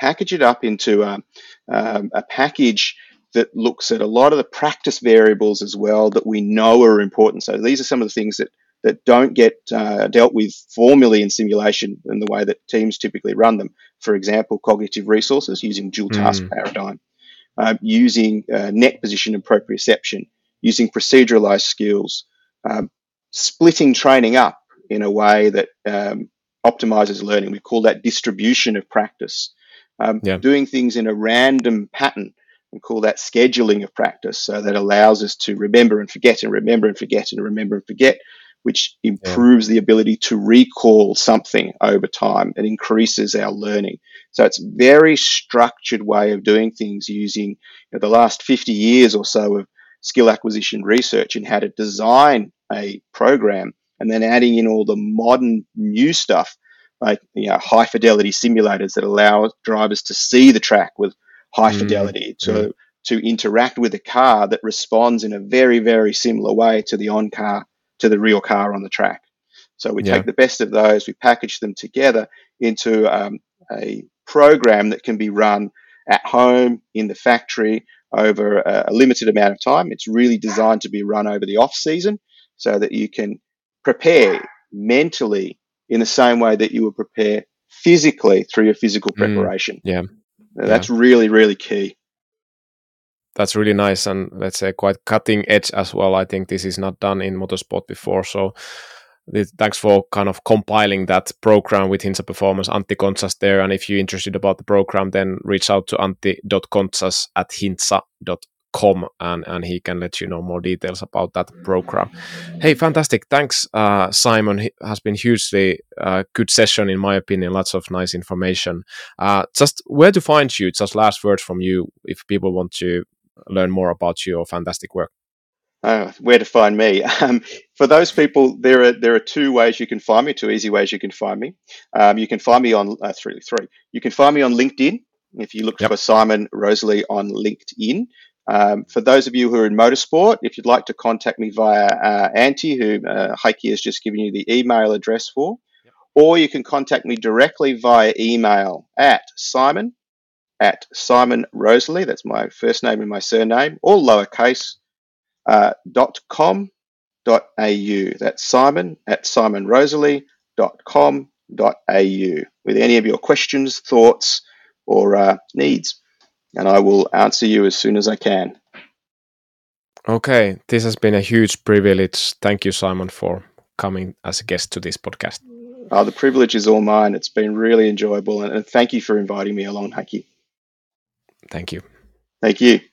package it up into a package that looks at a lot of the practice variables as well that we know are important. So these are some of the things that don't get dealt with formally in simulation in the way that teams typically run them. For example, cognitive resources using dual task paradigm, using neck position and proprioception, using proceduralized skills, splitting training up in a way that optimizes learning. We call that distribution of practice. Doing things in a random pattern, we call that scheduling of practice. So that allows us to remember and forget and remember and forget and remember and forget, which improves the ability to recall something over time. It increases our learning. So it's a very structured way of doing things using the last 50 years or so of skill acquisition research in how to design a program, and then adding in all the modern new stuff like high fidelity simulators that allow drivers to see the track with high fidelity, to interact with a car that responds in a very, very similar way to the real car on the track. So we take the best of those, we package them together into a program that can be run at home, in the factory, over a limited amount of time. It's really designed to be run over the off season so that you can prepare mentally in the same way that you would prepare physically through your physical preparation. That's really, really key. That's really nice, and let's say quite cutting edge as well. I think this is not done in motorsport before, so thanks for kind of compiling that program with Hintsa Performance. Antti Kontsas there, and if you're interested about the program, then reach out to antti.kontsas@hintsa.com, and he can let you know more details about that program. Hey, fantastic. Thanks, Simon. It has been hugely good session, in my opinion. Lots of nice information. Just where to find you? Just last words from you if people want to learn more about your fantastic work. Where to find me? For those people, there are two ways you can find me, two easy ways you can find me. You can find me on three. You can find me on LinkedIn if you look for Simon Rosalie on LinkedIn. For those of you who are in motorsport, if you'd like to contact me via Antti, who Heikki has just given you the email address for, or you can contact me directly via email at Simon Rosalie, that's my first name and my surname, all lowercase, .com.au. That's simon@simonrosalie.com.au with any of your questions, thoughts, or needs, and I will answer you as soon as I can. Okay, this has been a huge privilege. Thank you, Simon, for coming as a guest to this podcast. The privilege is all mine. It's been really enjoyable, and thank you for inviting me along, Heikki. Thank you. Thank you.